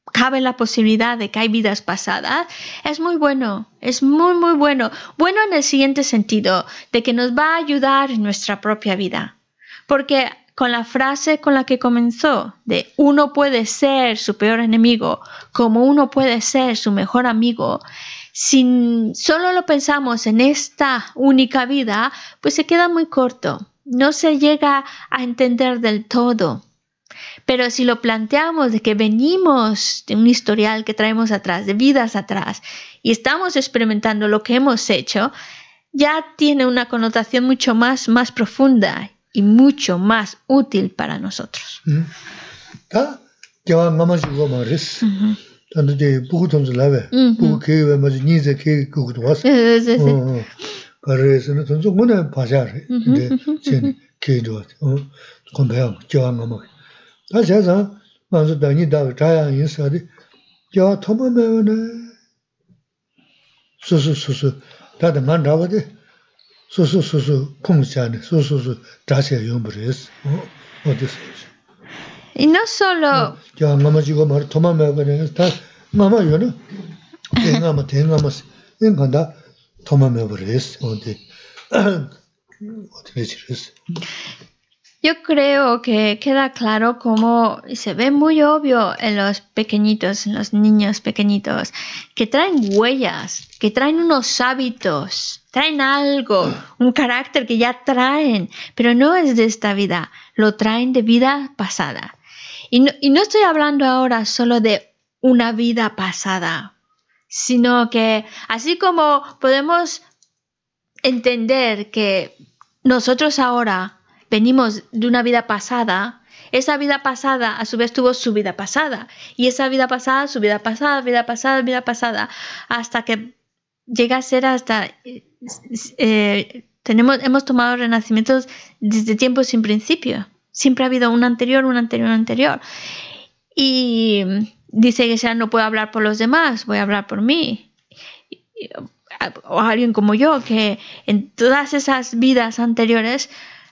cabe la posibilidad de que hay vidas pasadas, es muy bueno, es muy, muy bueno. Bueno en el siguiente sentido, de que nos va a ayudar en nuestra propia vida. Porque con la frase con la que comenzó, de uno puede ser su peor enemigo, como uno puede ser su mejor amigo, si solo lo pensamos en esta única vida, pues se queda muy corto. No se llega a entender del todo. Pero si lo planteamos de que venimos de un historial que traemos atrás, de vidas atrás, y estamos experimentando lo que hemos hecho, ya tiene una connotación mucho más, más profunda y mucho más útil para nosotros. ¿Ah? Ya vamos a jugar más. Tanto de poco tonto la ve, poco que vemos ni de que gusto. Para eso no tonto una pasar de sin que do. Compare ya vamos. 다자자 먼저 다니다 자야 인사디 야 토마메네 수수수수 다들 만나거든 수수수수 풍자네 수수수 자세 용부레스 어 어디서 Y no solo 야 마마지고 말 토마메거네 다 마마요네 대가마 대가마스 인간다 토마메버레스 어디 어떻게 지르스 Yo creo que queda claro cómo se ve muy obvio en los pequeñitos, en los niños pequeñitos, que traen huellas, que traen unos hábitos, traen algo, un carácter que ya traen, pero no es de esta vida, lo traen de vida pasada. Y no, y no estoy hablando ahora solo de una vida pasada, sino que así como podemos entender que nosotros ahora venimos de una vida pasada, esa vida pasada a su vez tuvo su vida pasada, y esa vida pasada, su vida pasada, vida pasada, vida pasada, hasta que llega a ser hasta... Eh, tenemos, hemos tomado renacimientos desde tiempos sin principio. Siempre ha habido un anterior, un anterior, un anterior. Y dice que ya no puedo hablar por los demás, voy a hablar por mí. O alguien como yo, que en todas esas vidas anteriores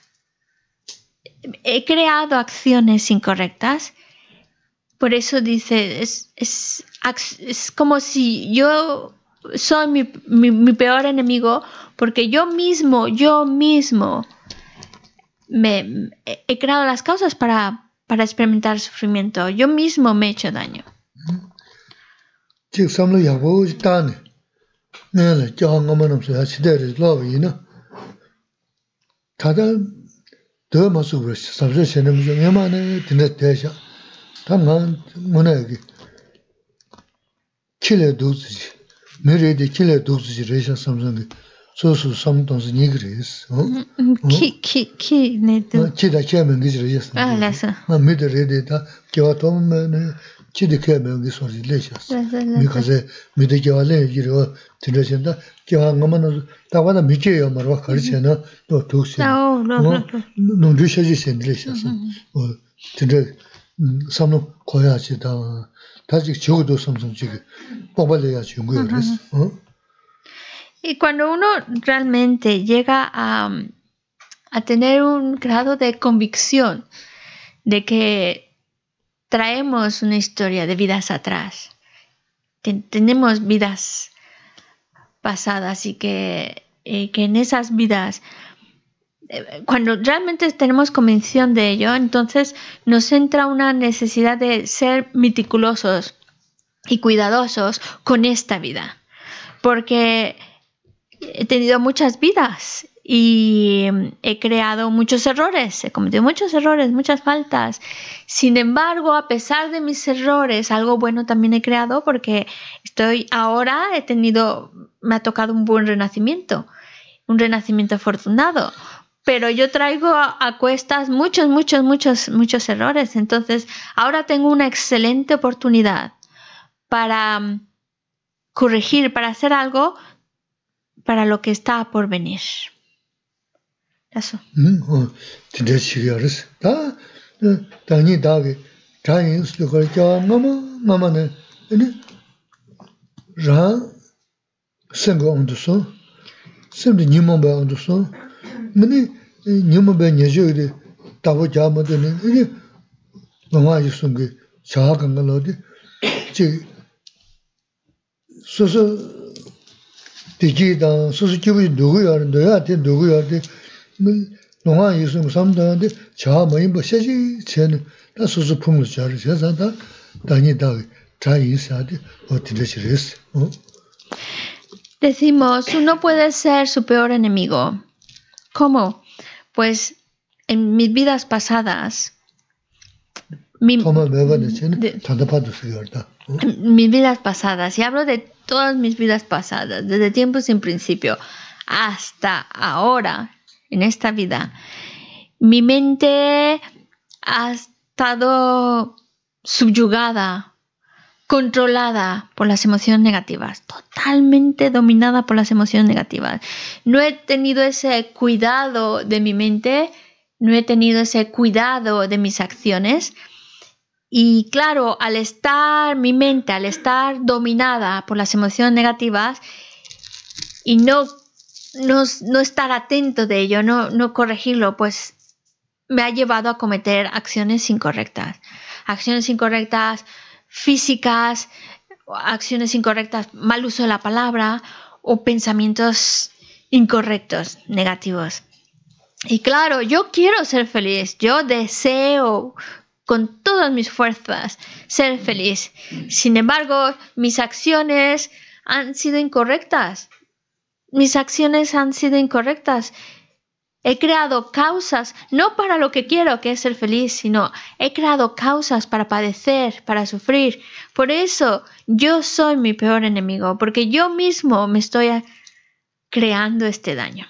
he creado acciones incorrectas. Por eso dice, es, es, es como si yo soy mi, mi, mi peor enemigo, porque yo mismo, yo mismo me, he creado las causas para, para experimentar sufrimiento. Yo mismo me he hecho daño. 더 마수버 sabse chene mu yama ne tine tesha ta man monagi kile dozi mere de kile dozi resha samsang so so samtons nigres oh ki ki ki ne de ki da kemen gizres ah la sa ma me de rede da kewa tom ne ki de kemen gizres lesha mi kaze mi de gewale giro tine chenda kewa ngama ta wada mi ke yamar wa karchena to toksi no no no no rishaji sendresha o tine samno koyachi da 다직 저도 삼성 지금 뽑아내야 중요해요. ¿Oh? Y cuando uno realmente llega a, a tener un grado de convicción de que traemos una historia de vidas atrás, que tenemos vidas pasadas y que, y que en esas vidas, cuando realmente tenemos convicción de ello, entonces nos entra una necesidad de ser meticulosos y cuidadosos con esta vida. Porque he tenido muchas vidas y he creado muchos errores, he cometido muchos errores, muchas faltas. Sin embargo, a pesar de mis errores, algo bueno también he creado porque estoy ahora, he tenido, me ha tocado un buen renacimiento, un renacimiento afortunado. Pero yo traigo a, a cuestas muchos, muchos, muchos, muchos errores. Entonces, ahora tengo una excelente oportunidad para um, corregir, para hacer algo para lo que está por venir. Eso. mene nyuma be nyejo de tabo jama de ne mama yusunge cha kanga lo de 지 소소 디지다 소소 기분이 누구야 너야한테 누구야한테 농아 있으면 삼다한테 자 뭐이 뭐 세지 쟤는 다 소소 품을 잘 세상다 다니다 다 있어야지 어떻게 되시랬어 어 Decimos, uno puede ser su peor enemigo. ¿Cómo? Pues en mis vidas pasadas, mi, de, mis vidas pasadas, y hablo de todas mis vidas pasadas, desde tiempos sin principio hasta ahora, en esta vida, mi mente ha estado subyugada, controlada por las emociones negativas, totalmente dominada por las emociones negativas. No he tenido ese cuidado de mi mente, no he tenido ese cuidado de mis acciones. Y claro, al estar mi mente, al estar dominada por las emociones negativas y no, no, no estar atento de ello, no, no corregirlo, pues me ha llevado a cometer acciones incorrectas. Acciones incorrectas físicas, acciones incorrectas, mal uso de la palabra o pensamientos incorrectos, negativos. Y claro, yo quiero ser feliz, yo deseo con todas mis fuerzas ser feliz. Sin embargo, mis acciones han sido incorrectas. Mis acciones han sido incorrectas. He creado causas, no para lo que quiero, que es ser feliz, sino he creado causas para padecer, para sufrir. Por eso yo soy mi peor enemigo, porque yo mismo me estoy creando este daño.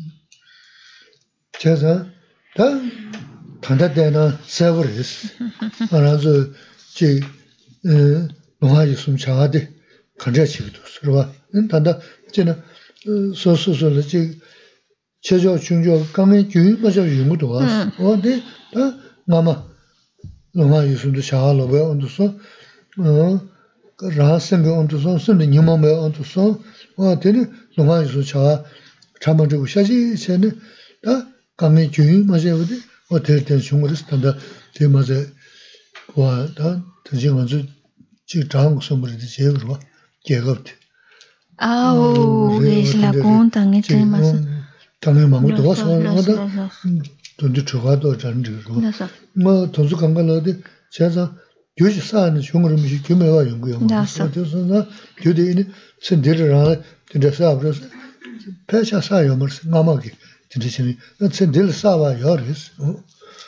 최저 중저 강의 교육 맞아 용도 왔어. 어디 다 마마 너가 유순도 샤로 왜 온도서 어 라생 온도서 선데 님마에 온도서 어 되니 너가 유순 샤 참아주고 샤지 쟤네 다 강의 교육 맞아 어디 어떨 때 중국에서 단다 대마자 와다 대중한테 지 장국 선물이 제로 계급대 Ah, es la conta en este más. 당연히 망고도 와서 하다 돈도 들어가도 잔지고 뭐 돈수 간간어디 제가 교지 쌓는 중으로 미시 규모가 연구요 그래서 나 교대인이 선들을 진짜 앞으로 패샤 쌓여 뭐 마마기 진짜 선들 쌓아요 그래서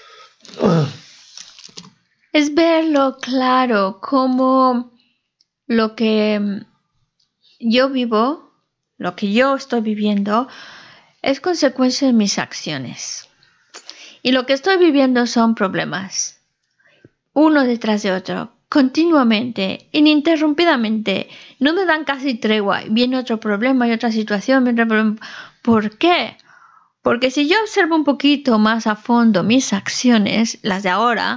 Es verlo claro como lo que yo vivo, lo que yo estoy viviendo es consecuencia de mis acciones. Y lo que estoy viviendo son problemas, uno detrás de otro, continuamente, ininterrumpidamente. No me dan casi tregua. Viene otro problema y otra situación. Viene otro problema. ¿Por qué? Porque si yo observo un poquito más a fondo mis acciones, las de ahora,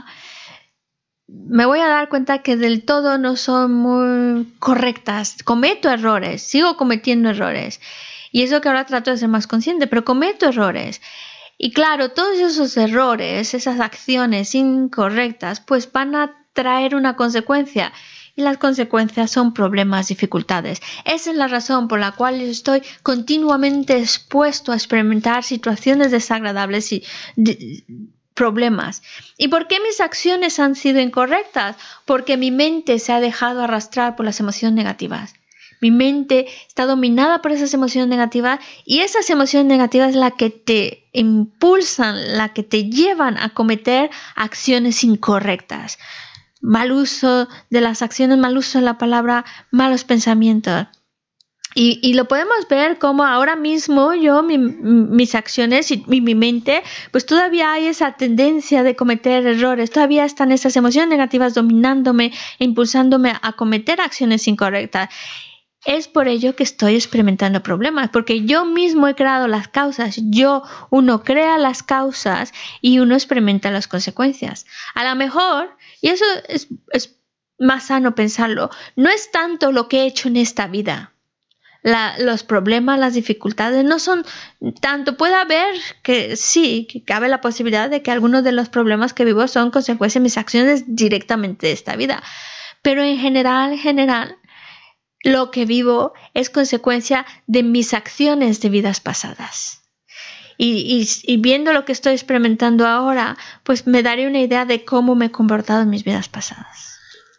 me voy a dar cuenta que del todo no son muy correctas. Cometo errores, sigo cometiendo errores. Y eso que ahora trato de ser más consciente, pero cometo errores. Y claro, todos esos errores, esas acciones incorrectas, pues van a traer una consecuencia. Y las consecuencias son problemas, dificultades. Esa es la razón por la cual yo estoy continuamente expuesto a experimentar situaciones desagradables y de, problemas. ¿Y por qué mis acciones han sido incorrectas? Porque mi mente se ha dejado arrastrar por las emociones negativas. Mi mente está dominada por esas emociones negativas y esas emociones negativas son las que te impulsan, las que te llevan a cometer acciones incorrectas. Mal uso de las acciones, mal uso de la palabra, malos pensamientos. Y, y lo podemos ver como ahora mismo yo, mi, mis acciones y mi, mi mente, pues todavía hay esa tendencia de cometer errores, todavía están esas emociones negativas dominándome, impulsándome a cometer acciones incorrectas. Es por ello que estoy experimentando problemas, porque yo mismo he creado las causas, yo, uno crea las causas y uno experimenta las consecuencias. A lo mejor, y eso es, es más sano pensarlo, no es tanto lo que he hecho en esta vida. La, los problemas, las dificultades no son tanto, puede haber que sí, que cabe la posibilidad de que algunos de los problemas que vivo son consecuencias de mis acciones directamente de esta vida. pero en general, en general, lo que vivo es consecuencia de mis acciones de vidas pasadas. Y, y, y viendo lo que estoy experimentando ahora, pues me daré una idea de cómo me he comportado en mis vidas pasadas.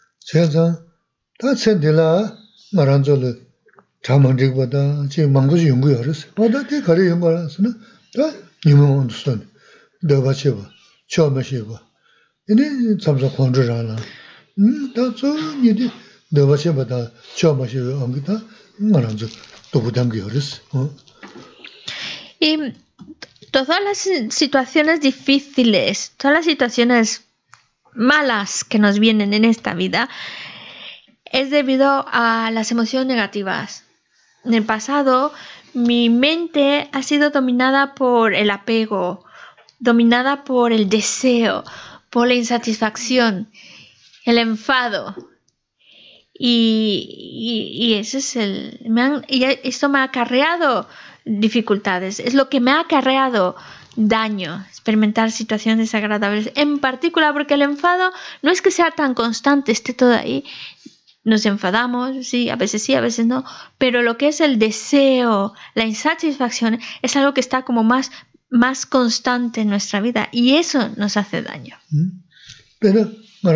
Y todas las situaciones difíciles, todas las situaciones malas que nos vienen en esta vida, es debido a las emociones negativas. En el pasado, mi mente ha sido dominada por el apego, dominada por el deseo, por la insatisfacción, el enfado. Y, y, y eso es el, me han, y esto me ha acarreado dificultades. Es lo que me ha acarreado daño, experimentar situaciones desagradables. En particular porque el enfado no es que sea tan constante, esté todo ahí. Nos enfadamos, sí, a veces sí, a veces no. Pero lo que es el deseo, la insatisfacción, es algo que está como más, más constante en nuestra vida. Y eso nos hace daño. Pero,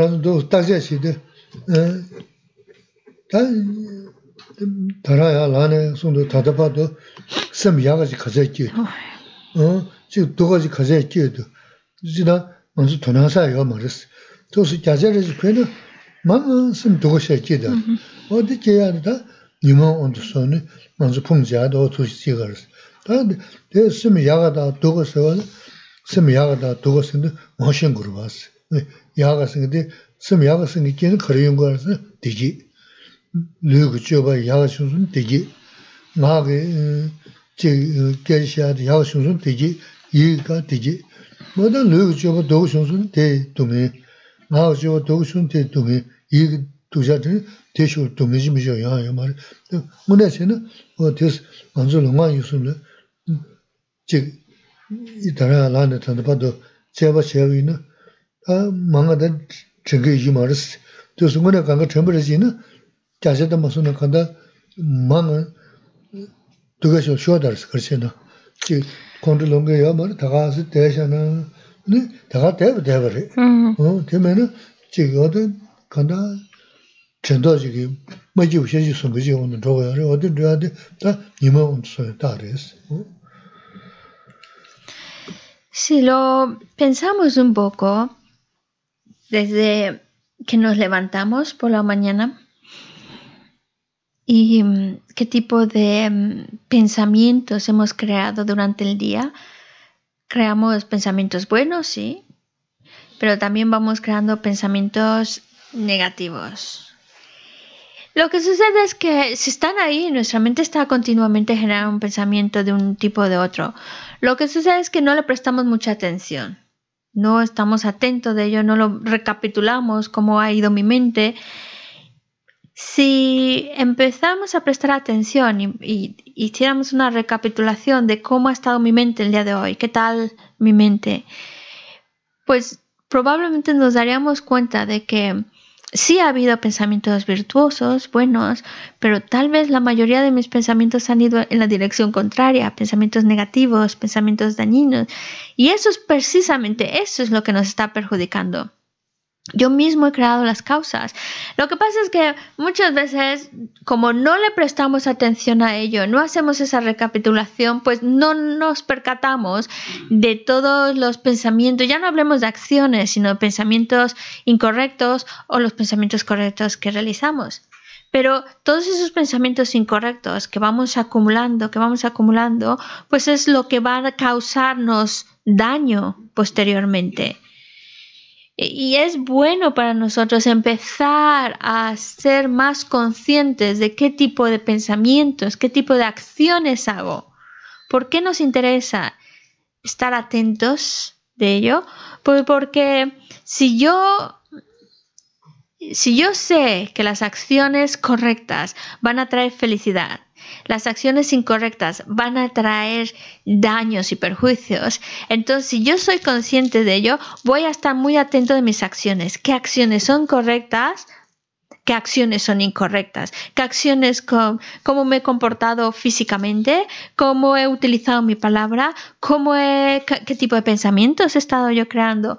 taraya lane sundu tadapado samyagaji kazaki 어 지금 도가지 가져야지도 지나 먼저 돈하사요 말았어 도스 자자르지 괜히 망은 숨 도가셔야지다 어디 제야다 니모 온도선에 먼저 풍자도 도시지가르 근데 대 심야가다 도가서 심야가다 도가서는 머신 그러 봤어 야가서인데 심야가서는 걔는 거리는 거라서 되지 르그 줘봐 야가서는 되지 나게 제 개시아도 야가서는 되지 이가 되지 뭐든 르그 줘봐 도가서는 대 동에 나가 줘 도가서는 대 동에 이 도자들 대쇼 동의지 미죠 야야 말 문에서는 어 됐어 먼저 롱만 유수는 즉 이따라 라는 단도 봐도 제가 제위는 아 망하다 저게 이 말스 그래서 뭐네 간거 전부르지는 자세도 무슨 간다 망은 두개서 쇼다르스 그렇잖아 즉 컨트롤longe야 말 다가서 대셔는 네 다가 대버 대버래 어 되면은 즉 어떤 간다 전도지기 뭐지 우셔지 손거지 오는 저거야 어디 돼야 다 니만 온서 다레스 Si lo pensamos un poco, desde que nos levantamos por la mañana y qué tipo de pensamientos hemos creado durante el día, creamos pensamientos buenos, sí, pero también vamos creando pensamientos negativos. Lo que sucede es que si están ahí, nuestra mente está continuamente generando un pensamiento de un tipo o de otro. Lo que sucede es que no le prestamos mucha atención. No estamos atentos de ello, no lo recapitulamos cómo ha ido mi mente. Si empezamos a prestar atención y, y hiciéramos una recapitulación de cómo ha estado mi mente el día de hoy, qué tal mi mente, pues probablemente nos daríamos cuenta de que sí ha habido pensamientos virtuosos, buenos, pero tal vez la mayoría de mis pensamientos han ido en la dirección contraria, pensamientos negativos, pensamientos dañinos. Y eso es precisamente, eso es lo que nos está perjudicando. Yo mismo he creado las causas. Lo que pasa es que muchas veces, como no le prestamos atención a ello, no hacemos esa recapitulación, pues no nos percatamos de todos los pensamientos. Ya no hablemos de acciones, sino de pensamientos incorrectos o los pensamientos correctos que realizamos. Pero todos esos pensamientos incorrectos que vamos acumulando, que vamos acumulando, pues es lo que va a causarnos daño posteriormente. Y es bueno para nosotros empezar a ser más conscientes de qué tipo de pensamientos, qué tipo de acciones hago. ¿Por qué nos interesa estar atentos de ello? Pues porque si yo, si yo sé que las acciones correctas van a traer felicidad, las acciones incorrectas van a traer daños y perjuicios, entonces si yo soy consciente de ello, voy a estar muy atento de mis acciones. ¿Qué acciones son correctas? qué acciones son incorrectas, qué acciones, con, cómo me he comportado físicamente, cómo he utilizado mi palabra, cómo he, qué, qué tipo de pensamientos he estado yo creando.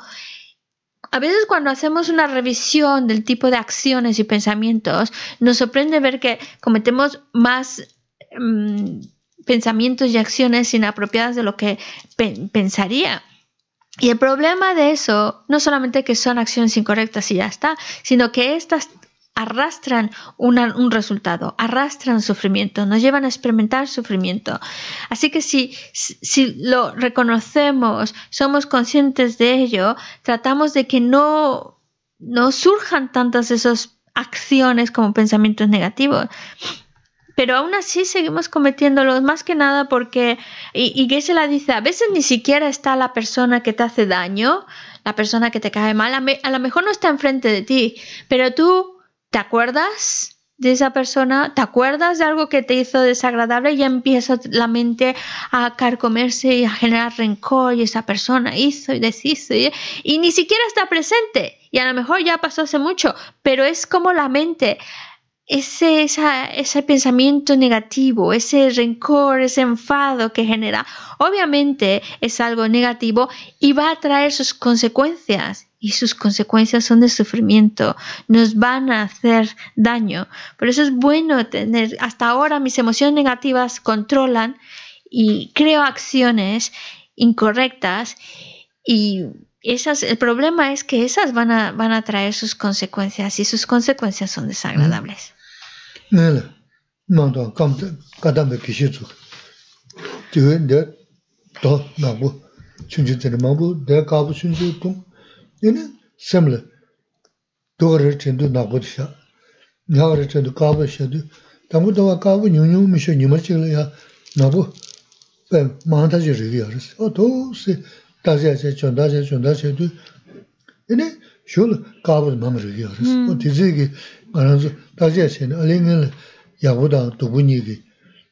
A veces cuando hacemos una revisión del tipo de acciones y pensamientos, nos sorprende ver que cometemos más um, pensamientos y acciones inapropiadas de lo que pe- pensaría. Y el problema de eso, no solamente que son acciones incorrectas y ya está, sino que estas arrastran una, un resultado, arrastran sufrimiento, nos llevan a experimentar sufrimiento. Así que si, si lo reconocemos, somos conscientes de ello, tratamos de que no, no surjan tantas esas acciones como pensamientos negativos. Pero aún así seguimos cometiéndolos, más que nada porque, y, y Geshe-la dice, a veces ni siquiera está la persona que te hace daño, la persona que te cae mal, a, me, a lo mejor no está enfrente de ti, pero tú te acuerdas de esa persona, te acuerdas de algo que te hizo desagradable y ya empieza la mente a carcomerse y a generar rencor, y esa persona hizo y deshizo, y, y ni siquiera está presente, y a lo mejor ya pasó hace mucho, pero es como la mente... Ese, esa, ese pensamiento negativo, ese rencor, ese enfado que genera, obviamente es algo negativo y va a traer sus consecuencias, y sus consecuencias son de sufrimiento, nos van a hacer daño. Por eso es bueno tener, hasta ahora mis emociones negativas controlan y creo acciones incorrectas, y esas, el problema es que esas van a, van a traer sus consecuencias, y sus consecuencias son desagradables. Nela, mando kamta kadambe kishizu. Tiwe de to nabu chunji tene mabu de kabu chunji tung. Yene semle dore chendu nabu sha. Nyare chendu kabu shadu. Tamu dawa kabu nyunyu misho nyumachile ya nabu pe manda je rigi yaris. O to se daje se chonda je chonda se du. Yene shul kabu mam rigi yaris. O tizigi Aranzo daje se ne alingel 야보다 두 분이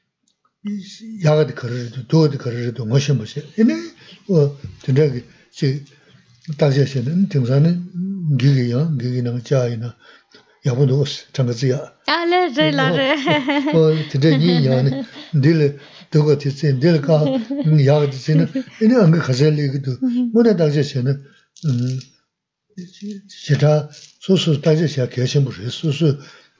야가도 그러도 도도 그러도 무슨 무슨 이네 어 되게 지 다시는 등산은 기기야 기기는 자이나 야보도 장가지야 알레 라레 어 되게 니야네 딜 도가 됐지 딜가 야가도 지는 이네 안 가설리기도 뭐나 다시는 음 제가 소소 다시야 계신 분이 소소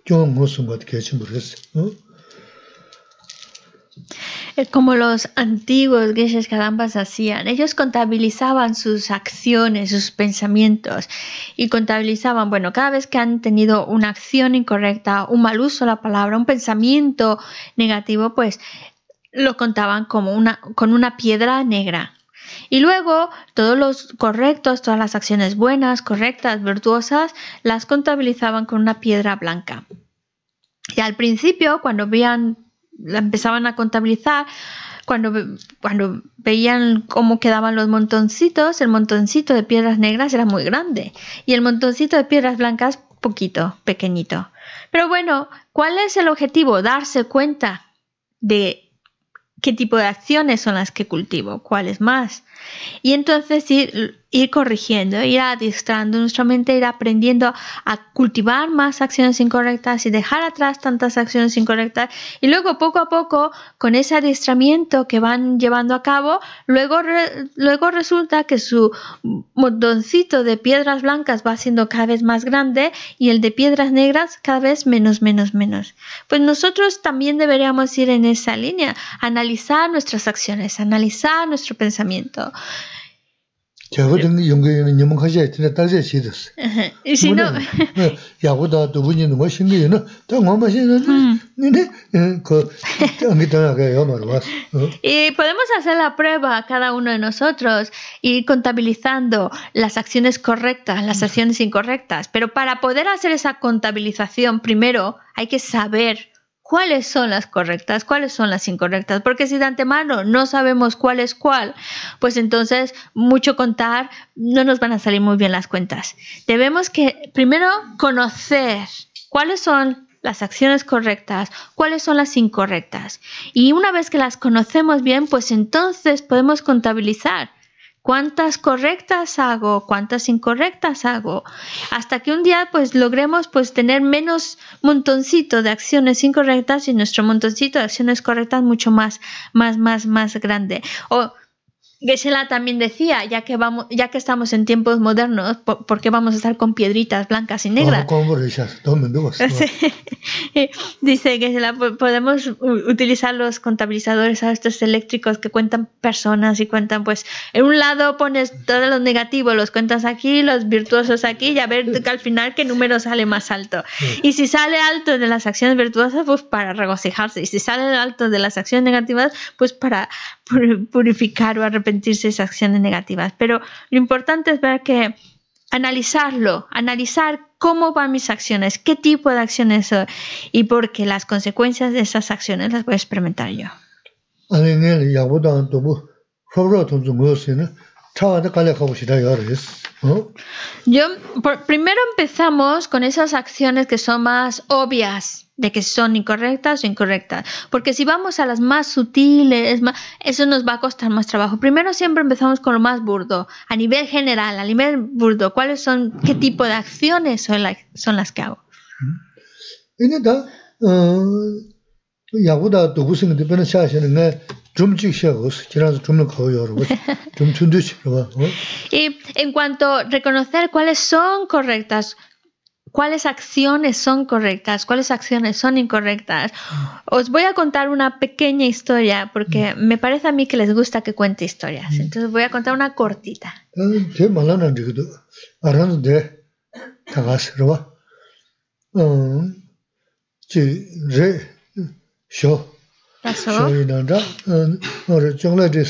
Como los antiguos Geshe Kadampas hacían, ellos contabilizaban sus acciones, sus pensamientos, y contabilizaban, bueno, cada vez que han tenido una acción incorrecta, un mal uso de la palabra, un pensamiento negativo, pues lo contaban como una, con una piedra negra. Y luego todos los correctos, todas las acciones buenas, correctas, virtuosas, las contabilizaban con una piedra blanca. Y al principio, cuando veían, la empezaban a contabilizar, cuando, cuando veían cómo quedaban los montoncitos, el montoncito de piedras negras era muy grande y el montoncito de piedras blancas poquito, pequeñito. Pero bueno, ¿cuál es el objetivo? Darse cuenta de qué tipo de acciones son las que cultivo, cuáles más. Y entonces ir, ir corrigiendo, ir adiestrando nuestra mente, ir aprendiendo a cultivar más acciones incorrectas y dejar atrás tantas acciones incorrectas. Y luego, poco a poco, con ese adiestramiento que van llevando a cabo, luego, re, luego resulta que su montoncito de piedras blancas va siendo cada vez más grande y el de piedras negras cada vez menos, menos, menos. Pues nosotros también deberíamos ir en esa línea, analizar nuestras acciones, analizar nuestro pensamiento. Y si no... Y podemos hacer la prueba cada uno de nosotros, ir contabilizando las acciones correctas, las acciones incorrectas, pero para poder hacer esa contabilización primero hay que saber cuáles son las correctas, cuáles son las incorrectas, porque si de antemano no sabemos cuál es cuál, pues entonces mucho contar no nos van a salir muy bien las cuentas. Debemos que primero conocer cuáles son las acciones correctas, cuáles son las incorrectas, y una vez que las conocemos bien, pues entonces podemos contabilizar ¿Cuántas correctas hago? ¿Cuántas incorrectas hago? Hasta que un día pues logremos pues tener menos montoncito de acciones incorrectas y nuestro montoncito de acciones correctas mucho más, más, más, más grande. O Geshe-la también decía, ya que vamos, ya que estamos en tiempos modernos, ¿por, ¿por qué vamos a estar con piedritas blancas y negras? Dice Geshe-la, podemos utilizar los contabilizadores a estos eléctricos que cuentan personas y cuentan, pues, en un lado pones todos los negativos, los cuentas aquí, los virtuosos aquí, y a ver que al final qué número sale más alto. Y si sale alto de las acciones virtuosas, pues para regocijarse. Y si sale alto de las acciones negativas, pues para purificar o arrepentirse de esas acciones negativas. Pero lo importante es ver que analizarlo, analizar cómo van mis acciones, qué tipo de acciones son, y porque las consecuencias de esas acciones las voy a experimentar yo. Yo por, primero empezamos con esas acciones que son más obvias, de que son incorrectas o incorrectas. Porque si vamos a las más sutiles, más, eso nos va a costar más trabajo. Primero siempre empezamos con lo más burdo, a nivel general, a nivel burdo. ¿Cuáles son, qué tipo de acciones son, la, son las que hago? Y en cuanto a reconocer cuáles son correctas, cuáles acciones son correctas, cuáles acciones son incorrectas, os voy a contar una pequeña historia porque me parece a mí que les gusta que cuente historias. Entonces voy a contar una cortita. ¿Pasó? Oh, chocolate.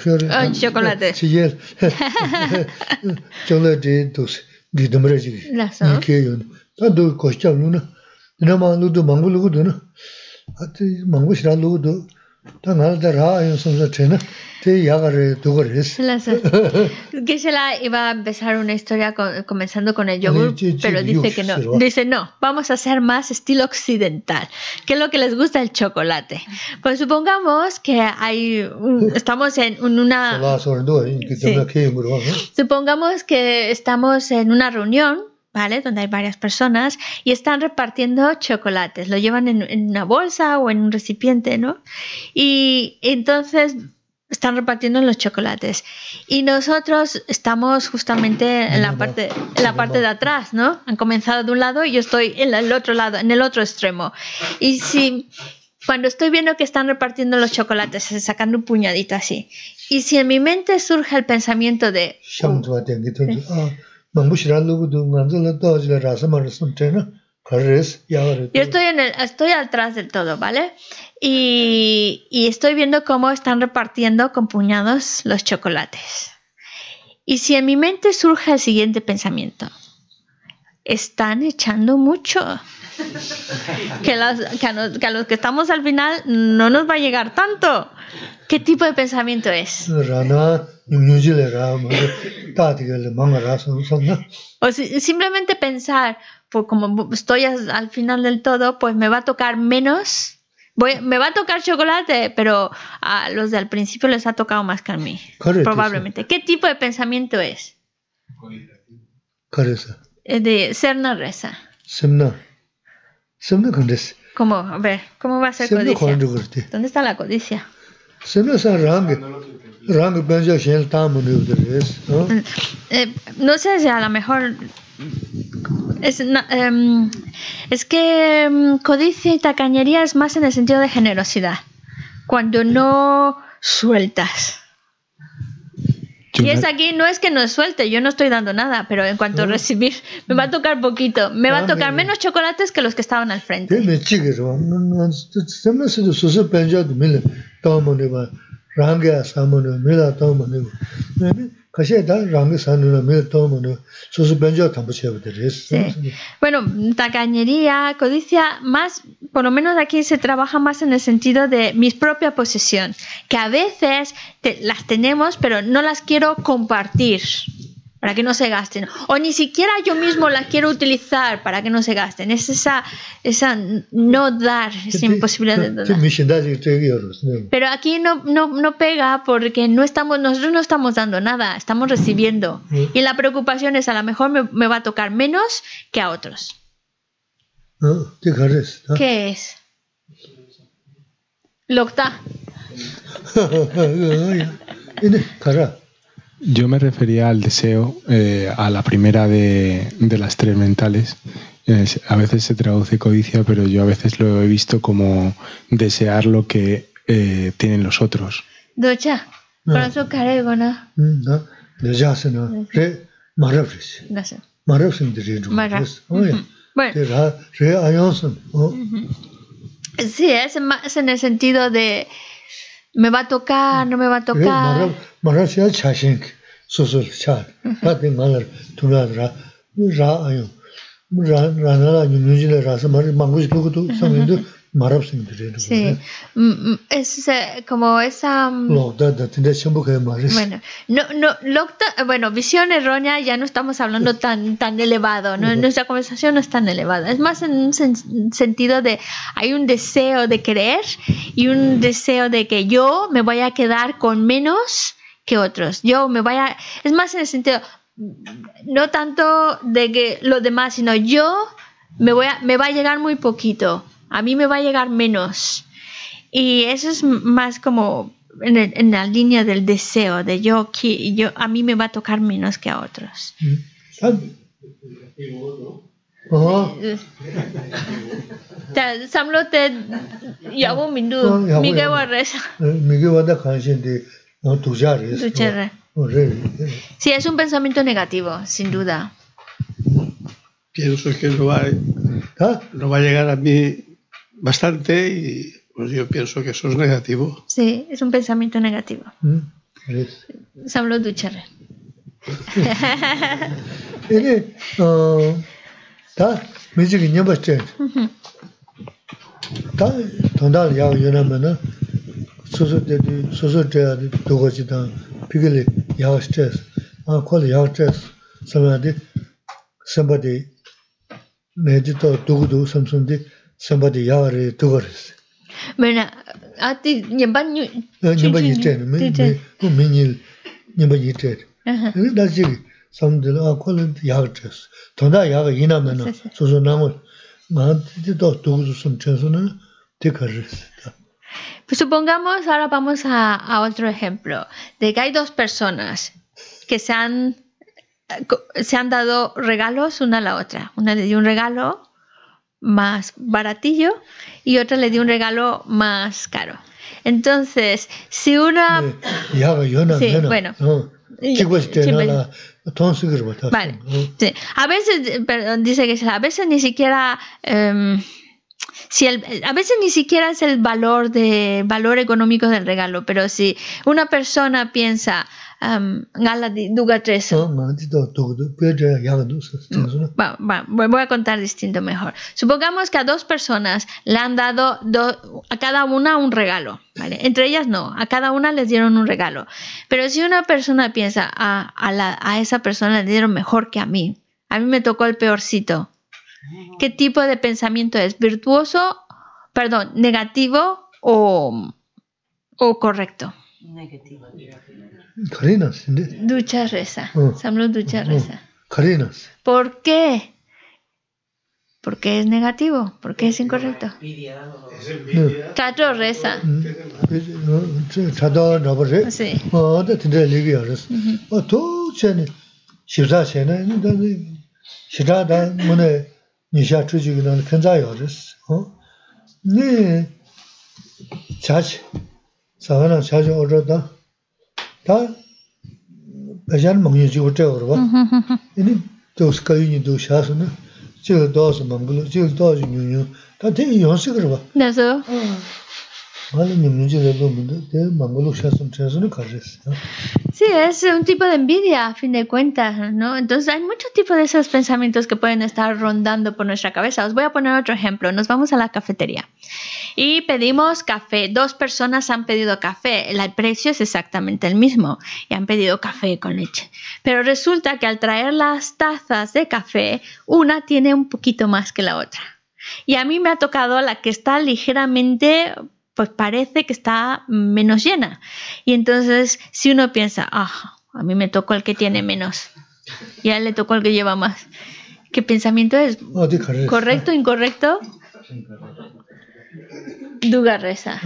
Geshe-la iba a empezar una historia con, comenzando con el yogur, pero dice que no. Dice, no, vamos a hacer más estilo occidental. ¿Qué es lo que les gusta? El chocolate. Pues supongamos que hay un, estamos en una... Sí. Supongamos que estamos en una reunión, ¿vale? Donde hay varias personas y están repartiendo chocolates. Lo llevan en, en una bolsa o en un recipiente, ¿no? Y entonces están repartiendo los chocolates. Y nosotros estamos justamente en la parte, en la parte de atrás, ¿no? Han comenzado de un lado y yo estoy en el otro lado, en el otro extremo. Y si... Cuando estoy viendo que están repartiendo los chocolates, sacando un puñadito así, y si en mi mente surge el pensamiento de... Oh, ¿sí? Yo estoy, en el, estoy atrás del todo, ¿vale? Y, y estoy viendo cómo están repartiendo con puñados los chocolates. Y si en mi mente surge el siguiente pensamiento, están echando mucho. Que, las, que, a nos, que a los que estamos al final no nos va a llegar tanto. ¿Qué tipo de pensamiento es? O si, simplemente pensar, pues como estoy al final del todo, pues me va a tocar menos. Voy, me va a tocar chocolate, pero a los del principio les ha tocado más que a mí. Correcto, probablemente. Sí. ¿Qué tipo de pensamiento es? De Serna Reza. Semna. Semna condes. ¿Cómo? A ver, ¿cómo va a ser codicia? ¿Dónde está la codicia? Semna sa rang. Rang benja shen tam no. Eh, no sé si a lo mejor es, um, es que um, codicia y tacañería es más en el sentido de generosidad. Cuando no sueltas. Y es aquí, no es que no suelte, yo no estoy dando nada, pero en cuanto a recibir, me va a tocar poquito, me va a tocar menos chocolates que los que estaban al frente. Sí. Bueno, tacañería, codicia, más, por lo menos aquí se trabaja más en el sentido de mi propia posesión, que a veces te, las tenemos, pero no las quiero compartir. para que no se gasten. O ni siquiera yo mismo la quiero utilizar para que no se gasten. Es esa, esa no dar, esa imposibilidad de dar. Pero aquí no, no, no pega porque no estamos, nosotros no estamos dando nada, estamos recibiendo. Y la preocupación es a lo mejor me, me va a tocar menos que a otros. ¿Qué es? Lokta. Yo me refería al deseo, eh, a la primera de, de las tres mentales. Eh, a veces se traduce codicia, pero yo a veces lo he visto como desear lo que eh, tienen los otros. Docha, corazón carego, ¿no? No, de ya se no, re marafres. No sé. Marafres de re. Bueno. Re ayonson. Sí, es más en el sentido de me va a tocar, no me va a tocar. Marafres ya chashen, soso cha. Pate malar, tu ra ra ra ayon. Ra ra na la nyunjile ra sa mar manguis lugu tu samindo marafres de re. Sí. Es como esa Lo da da tende chambu que marafres. Bueno, no no Lokta, bueno, visión errónea ya no estamos hablando tan tan elevado, ¿no? Nuestra conversación no es tan elevada. Es más en un sen- sentido de hay un deseo de querer y un deseo de que yo me vaya a quedar con menos que otros. Yo me vaya, es más en el sentido no tanto de que los demás, sino yo me voy a, me va a llegar muy poquito. A mí me va a llegar menos. Y eso es más como en, el, en la línea del deseo, de yo, yo, a mí me va a tocar menos que a otros. Samlo te yabu mindu, mige warres. Mige wada kanshin de tujares. Sí, es un pensamiento negativo, sin duda. Pienso que no va, ¿Ah? no va a llegar a mí bastante y pues yo pienso que eso es negativo. Sí, es un pensamiento negativo. Samlo ducharre. Ene, ta, miji que nyamba chen. Ta, tonda ya yona mena. Soso de soso de dogo jita pigele ya stress. Ah, kwale ya stress. Samade somebody medito dogo samsung de somebody ya re dogo. Bueno, a ti nyamba nyu nyamba yite me me minil nyamba yite. Da ji samde a kwale ya stress. Tonda ya ina mena soso namo ma de do dogo sum chensona te carres. Pues supongamos, ahora vamos a, a otro ejemplo, de que hay dos personas que se han, se han dado regalos una a la otra. Una le dio un regalo más baratillo y otra le dio un regalo más caro. Entonces, si una... Sí, bueno. Vale. Sí. A veces, perdón, dice que a veces ni siquiera... Um, Si el, a veces ni siquiera es el valor de valor económico del regalo, pero si una persona piensa um, va, va, voy a contar distinto mejor. Supongamos que a dos personas le han dado do, a cada una un regalo, ¿vale? Entre ellas no, a cada una les dieron un regalo. Pero si una persona piensa a, a, la, a esa persona le dieron mejor que a mí, a mí me tocó el peorcito. ¿Qué tipo de pensamiento es? ¿Virtuoso, perdón, negativo o, o correcto? Negativo. Ducha reza. Samlo ducha reza. ¿Por qué? ¿Por qué es negativo? ¿Por qué es incorrecto? Trato reza. Sí. Nisha chuchi gina kenza yoris. Ni chachi, savana chachi ordo da, da bajan mungyi jigo che orwa. Ini dos kayu ni do shasu na, jigo dos mangulu, jigo dos nyunyu, da tengi yonsi korwa. Naso? Sí, es un tipo de envidia, a fin de cuentas, ¿no? Entonces hay muchos tipos de esos pensamientos que pueden estar rondando por nuestra cabeza. Os voy a poner otro ejemplo. Nos vamos a la cafetería y pedimos café. Dos personas han pedido café. El precio es exactamente el mismo y han pedido café con leche. Pero resulta que al traer las tazas de café, una tiene un poquito más que la otra. Y a mí me ha tocado la que está ligeramente, pues parece que está menos llena. Y entonces, si uno piensa, ah, a mí me tocó el que tiene menos y a él le tocó el que lleva más. ¿Qué pensamiento es? ¿Correcto, incorrecto? Duga reza.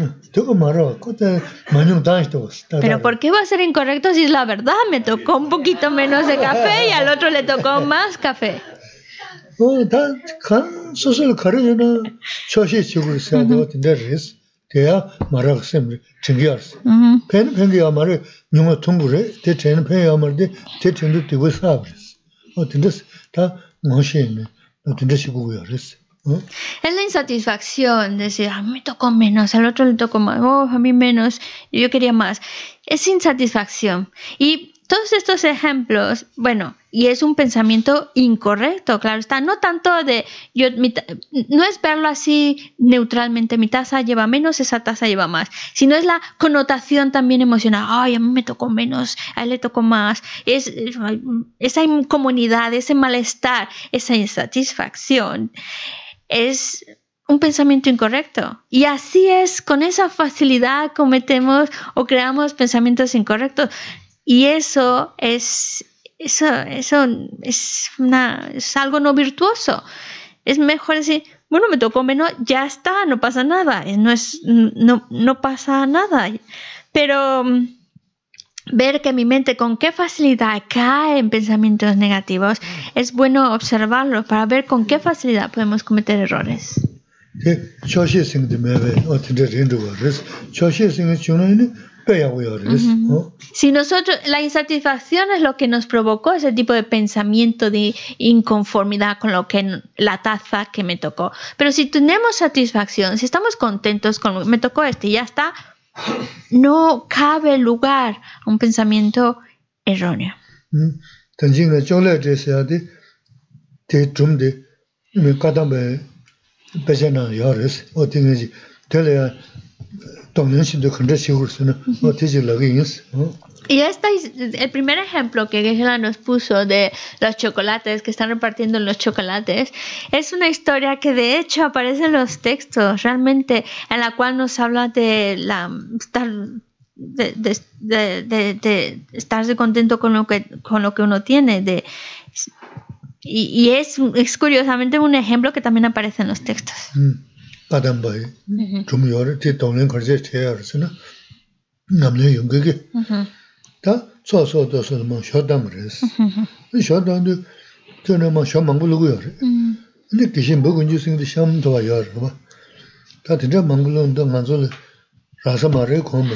Pero ¿por qué va a ser incorrecto si es la verdad? Me tocó un poquito menos de café y al otro le tocó más café. 어, 다 간, 소설 가르잖아. 초시 치고 있어야 되고, 근데 리스. 대야 말하고 셈, 증기할수. 펜, 펜기야 말을, 용어 통부래. 대, 쟤는 펜이야 말인데, 대, 쟤는 되고 사버렸어. 어, 근데 다, 멋있네. 어, 근데 시고야, 그랬어. ¿Eh? Es la insatisfacción, decir, a mí me tocó menos, al otro le tocó más, oh, a mí menos, yo quería más. Es insatisfacción. Y todos estos ejemplos, bueno, y es un pensamiento incorrecto, claro está, no tanto de, yo, mi, no es verlo así neutralmente, mi taza lleva menos, esa taza lleva más, sino es la connotación también emocional, ay, a mí me tocó menos, a él le tocó más, es, esa incomodidad, ese malestar, esa insatisfacción, es un pensamiento incorrecto. Y así es, con esa facilidad cometemos o creamos pensamientos incorrectos. Y eso es, eso, eso es, una, es algo no virtuoso. Es mejor decir, bueno, me tocó menos, ya está, no pasa nada. No, es, no, no pasa nada. Pero ver que mi mente con qué facilidad cae en pensamientos negativos, es bueno observarlo para ver con qué facilidad podemos cometer errores. Uh-huh. Si nosotros, la insatisfacción es lo que nos provocó ese tipo de pensamiento de inconformidad con lo que la taza que me tocó. Pero si tenemos satisfacción, si estamos contentos con lo que me tocó este y ya está, no cabe lugar a un pensamiento erróneo. Y este es el primer ejemplo que Geshe-la nos puso de los chocolates, que están repartiendo los chocolates. Es una historia que de hecho aparece en los textos, realmente, en la cual nos habla de la estar de, de, de, de, de estarse contento con lo que con lo que uno tiene. De, y, y es, es curiosamente un ejemplo que también aparece en los textos. Mm. 다 소소도서 뭐 쇼담그레스 쇼담도 저는 뭐 쇼망불고요. 근데 기신 먹은 주승도 샴도 와요. 다 진짜 망불론도 만들 라서 말해 고물.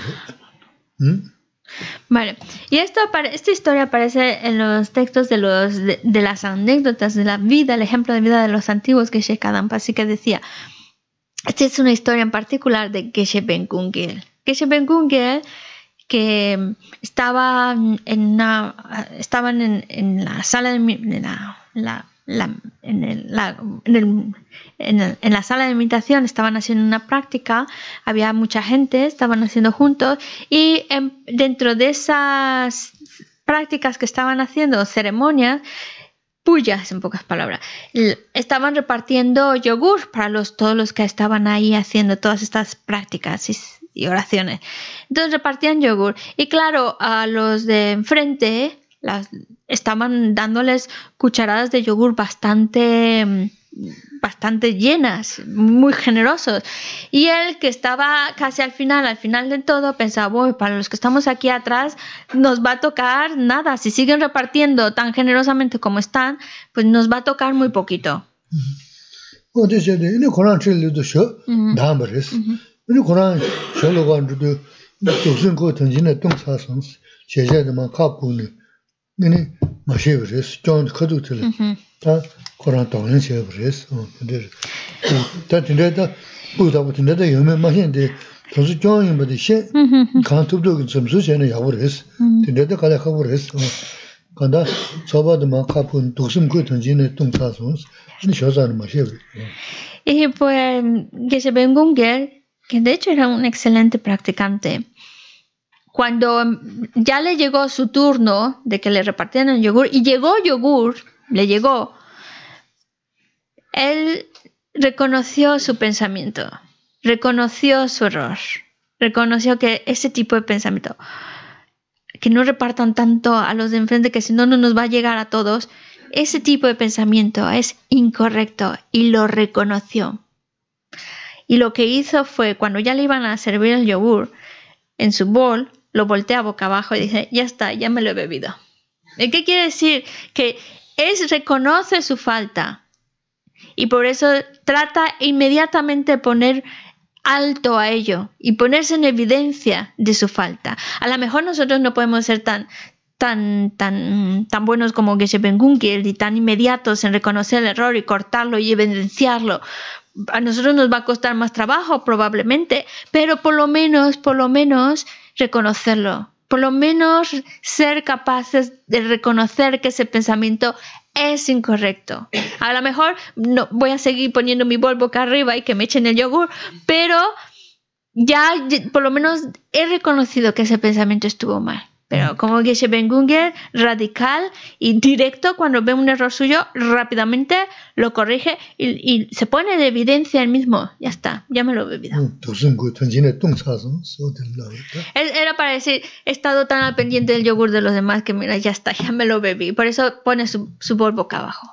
Vale, y esto, esta historia aparece en los textos de, los, de, de las anécdotas de la vida, el ejemplo de vida de los antiguos Geshe Kadampa, así que decía, esta es una historia en particular de Geshe Ben Gungel. Geshe Ben Gungel, que estaba en una, estaban en, en la sala de en la, la, la, en, el, la, en, el, en, el, en la sala de meditación, estaban haciendo una práctica, había mucha gente, estaban haciendo juntos y en, dentro de esas prácticas que estaban haciendo, ceremonias, puyas en pocas palabras, estaban repartiendo yogur para los, todos los que estaban ahí haciendo todas estas prácticas y, y oraciones. Entonces repartían yogur y claro, a los de enfrente las, estaban dándoles cucharadas de yogur bastante, bastante llenas, muy generosos. Y él, que estaba casi al final, al final de todo, pensaba, bueno, para los que estamos aquí atrás nos va a tocar nada. Si siguen repartiendo tan generosamente como están, pues nos va a tocar muy poquito. 네네 마셔버렸어. 좀 커두들. 다 코로나 동안에 버렸어. 근데 다 진짜다 보다 보다 요면 마신데 Entonces yo en vez de she kan tubdo que some sucene ya ores. Tende de kala khabores. Kanda soba de ma kapun dosum ko tonjine tongsa sons. Ni shozan ma shebre. Y pues Geshe Ben Gunger, que de hecho era un excelente practicante, cuando ya le llegó su turno de que le repartieran el yogur, y llegó yogur, le llegó, él reconoció su pensamiento, reconoció su error, reconoció que ese tipo de pensamiento, que no repartan tanto a los de enfrente, que si no, no nos va a llegar a todos, ese tipo de pensamiento es incorrecto y lo reconoció. Y lo que hizo fue, cuando ya le iban a servir el yogur en su bol, lo voltea boca abajo y dice, ya está, ya me lo he bebido. ¿Y qué quiere decir? Que él reconoce su falta y por eso trata inmediatamente de poner alto a ello y ponerse en evidencia de su falta. A lo mejor nosotros no podemos ser tan tan tan tan buenos como Geshe Ben Gunger y tan inmediatos en reconocer el error y cortarlo y evidenciarlo. A nosotros nos va a costar más trabajo probablemente, pero por lo menos, por lo menos reconocerlo. Por lo menos ser capaces de reconocer que ese pensamiento es incorrecto. A lo mejor no voy a seguir poniendo mi bol boca arriba y que me echen el yogur, pero ya por lo menos he reconocido que ese pensamiento estuvo mal. Pero como Geshe Ben Gunger, radical y directo, cuando ve un error suyo, rápidamente lo corrige y, y se pone de evidencia él mismo. Ya está, ya me lo he bebido. Era para decir, he estado tan al pendiente del yogur de los demás que mira, ya está, ya me lo bebí. Por eso pone su, su bol boca abajo.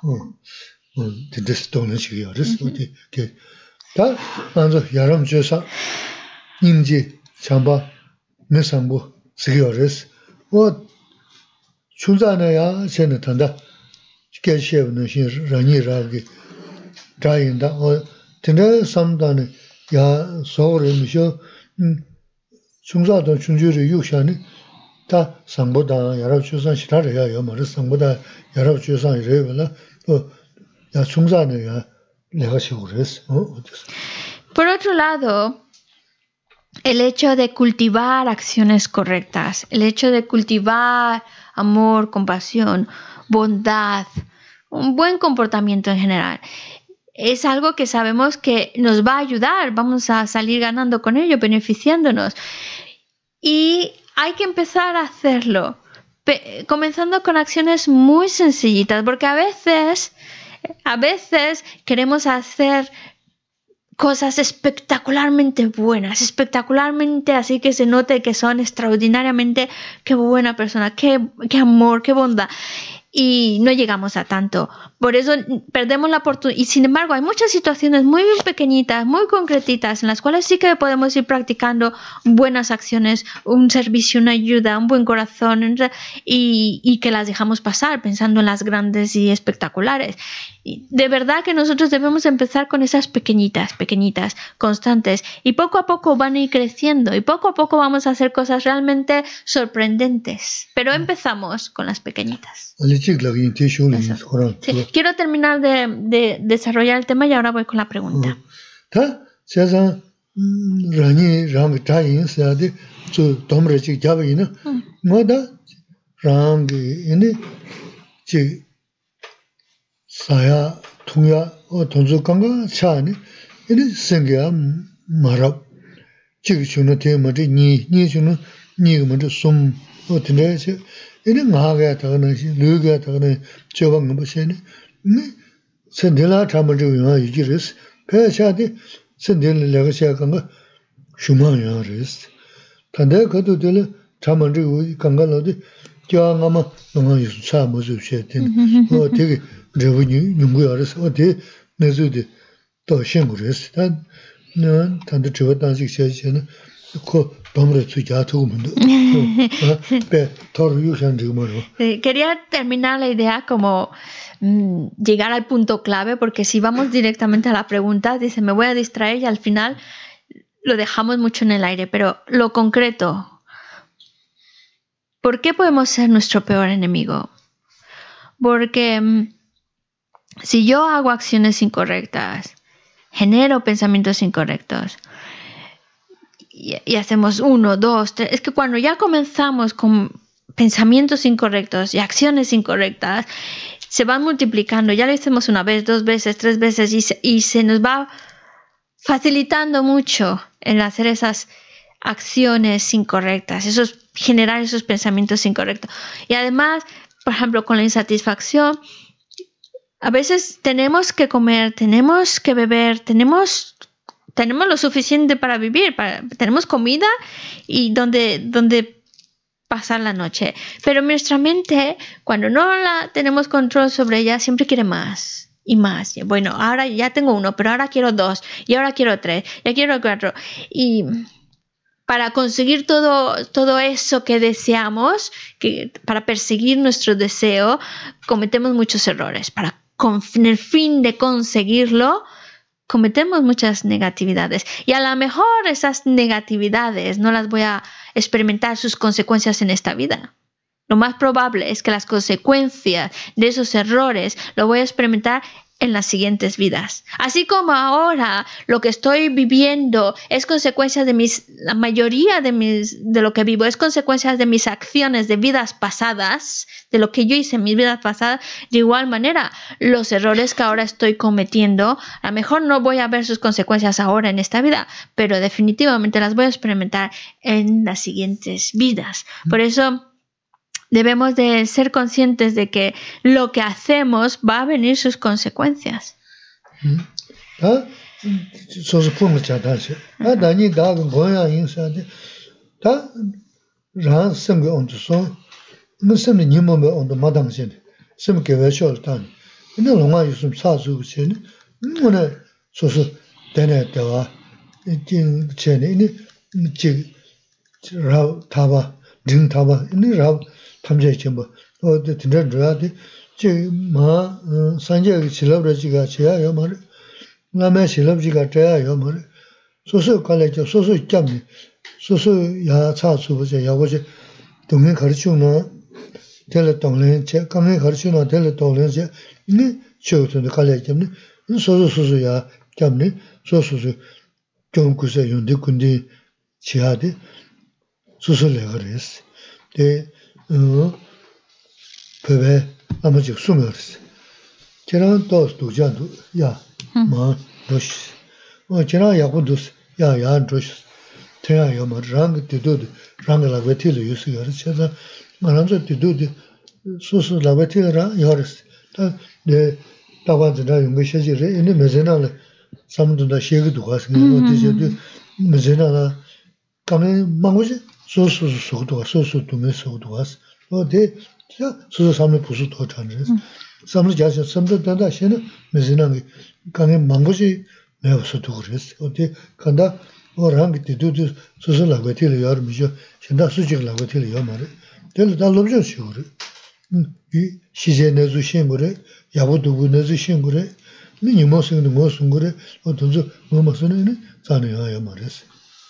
어 출자나야 전에 탄다. 개시에는 신 라니라기 자인다. 어 근데 삼단에 야 서울에서 음 중자도 중주를 유샤니 다 상보다 여러 주선 시라래야 여머를 상보다 여러 주선 이래라. 어야 중자네야 내가 시고랬어. 어 Por otro lado, el hecho de cultivar acciones correctas, el hecho de cultivar amor, compasión, bondad, un buen comportamiento en general, es algo que sabemos que nos va a ayudar, vamos a salir ganando con ello, beneficiándonos. Y hay que empezar a hacerlo, comenzando con acciones muy sencillitas, porque a veces, a veces queremos hacer cosas espectacularmente buenas, espectacularmente así que se note que son extraordinariamente, qué buena persona, qué, qué amor, qué bondad. Y no llegamos a tanto. Por eso perdemos la oportunidad. Y sin embargo, hay muchas situaciones muy pequeñitas, muy concretitas, en las cuales sí que podemos ir practicando buenas acciones, un servicio, una ayuda, un buen corazón, y, y que las dejamos pasar pensando en las grandes y espectaculares. Y de verdad que nosotros debemos empezar con esas pequeñitas, pequeñitas, constantes, y poco a poco van a ir creciendo, y poco a poco vamos a hacer cosas realmente sorprendentes. Pero empezamos con las pequeñitas. Sí. Quiero terminar de, de desarrollar el tema y ahora voy con la pregunta. 사야 통야 어 돈주강가 차니 이리 생겨 말아 지금 주는 때문에 니 니주는 니가 먼저 숨 어떤데서 이리 나가야 되는 시 르가 되는 저건 뭐 보세요 네 선들라 참을 좀 이지르스 배샤디 선들 내가 시작한 거 슈마야르스 근데 그것도 될 참을 좀 강가로도 저가마 너무 유사 뭐지 쉐든 어 되게 revenue nunguyares ode nezude to shengures tan nan tan de chodan sikse ko domre su ya tu mundo pe tor yusan digmoro. Quería terminar la idea como mmm, llegar al punto clave, porque si vamos directamente a la pregunta, dice me voy a distraer y al final lo dejamos mucho en el aire, pero lo concreto, ¿por qué podemos ser nuestro peor enemigo? Porque mmm, si yo hago acciones incorrectas, genero pensamientos incorrectos, y, y hacemos uno, dos, tres. Es que cuando ya comenzamos con pensamientos incorrectos y acciones incorrectas, se van multiplicando. Ya lo hicimos una vez, dos veces, tres veces y se, y se nos va facilitando mucho el hacer esas acciones incorrectas, esos, generar esos pensamientos incorrectos. Y además, por ejemplo, con la insatisfacción, a veces tenemos que comer, tenemos que beber, tenemos, tenemos lo suficiente para vivir, para, tenemos comida y donde, donde pasar la noche. Pero nuestra mente, cuando no la tenemos control sobre ella, siempre quiere más y más. Bueno, ahora ya tengo uno, pero ahora quiero dos, y ahora quiero tres, ya quiero cuatro. Y para conseguir todo, todo eso que deseamos, que, para perseguir nuestro deseo, cometemos muchos errores. Para con el fin de conseguirlo, cometemos muchas negatividades. Y a lo mejor esas negatividades no las voy a experimentar sus consecuencias en esta vida. Lo más probable es que las consecuencias de esos errores lo voy a experimentar en las siguientes vidas. Así como ahora lo que estoy viviendo es consecuencia de mis, la mayoría de mis, de lo que vivo es consecuencia de mis acciones de vidas pasadas, de lo que yo hice en mis vidas pasadas. De igual manera, los errores que ahora estoy cometiendo, a lo mejor no voy a ver sus consecuencias ahora en esta vida, pero definitivamente las voy a experimentar en las siguientes vidas. Por eso debemos de ser conscientes de que lo que hacemos va a venir sus consecuencias. ¿Ah? Eso es por mucha gracia. Ah, Dani, da, goya, inside. Da, ran, sem, on the song. No sem, ni mo, on the madam, sem, que ve, show, dan. No, no, ma, you some sasu, chen. No, no, so, so, dene, dewa, jing, chen, ini, jig, rao, taba, jing, taba, ini, rao, 탐제 쳔버 어 드드드라데 제마 산제 실업지가 제야 요말 나메 실업지가 제야 요말 소소 갈래죠 소소 짬니 소소 야 차수버제 야고제 동행 가르치는 텔레 동행 제 강행 가르치는 텔레 동행 제 니 쇼트도 갈래죠니 소소 소소야 짬니 소소소 좀 그새 윤데 군디 지하데 소소래 그랬어 데 어, 그게 아무지 숨어있어. 저런 또 도자도 야, 뭐 도시. 어, 저런 야고도 야, 야 도시. 태야요 뭐랑 때도도 랑라 베틸 유스가 그래서 말한서 때도도 소소 라베틸라 요르스. 네, 다바드나 용거 시지를 이제 메제나를 삼도다 시에도 가서 어디서도 메제나라 가면 망고지 소소 소도 소소 도메 소도 가서 어디 자 소소 삼을 부수 더 잔지 삼을 자서 삼도 단다 시는 메제나게 가면 망고지 내가서도 그랬어 어디 간다 어랑 때도도 소소 라베틸 요르미죠 신다 수직 라베틸 요 말에 될 달로죠 시고를 이 시제 내주 신고래 야보도 내주 신고래 ni mo se mo sungure o tonzo mo masone ni sane ya mares.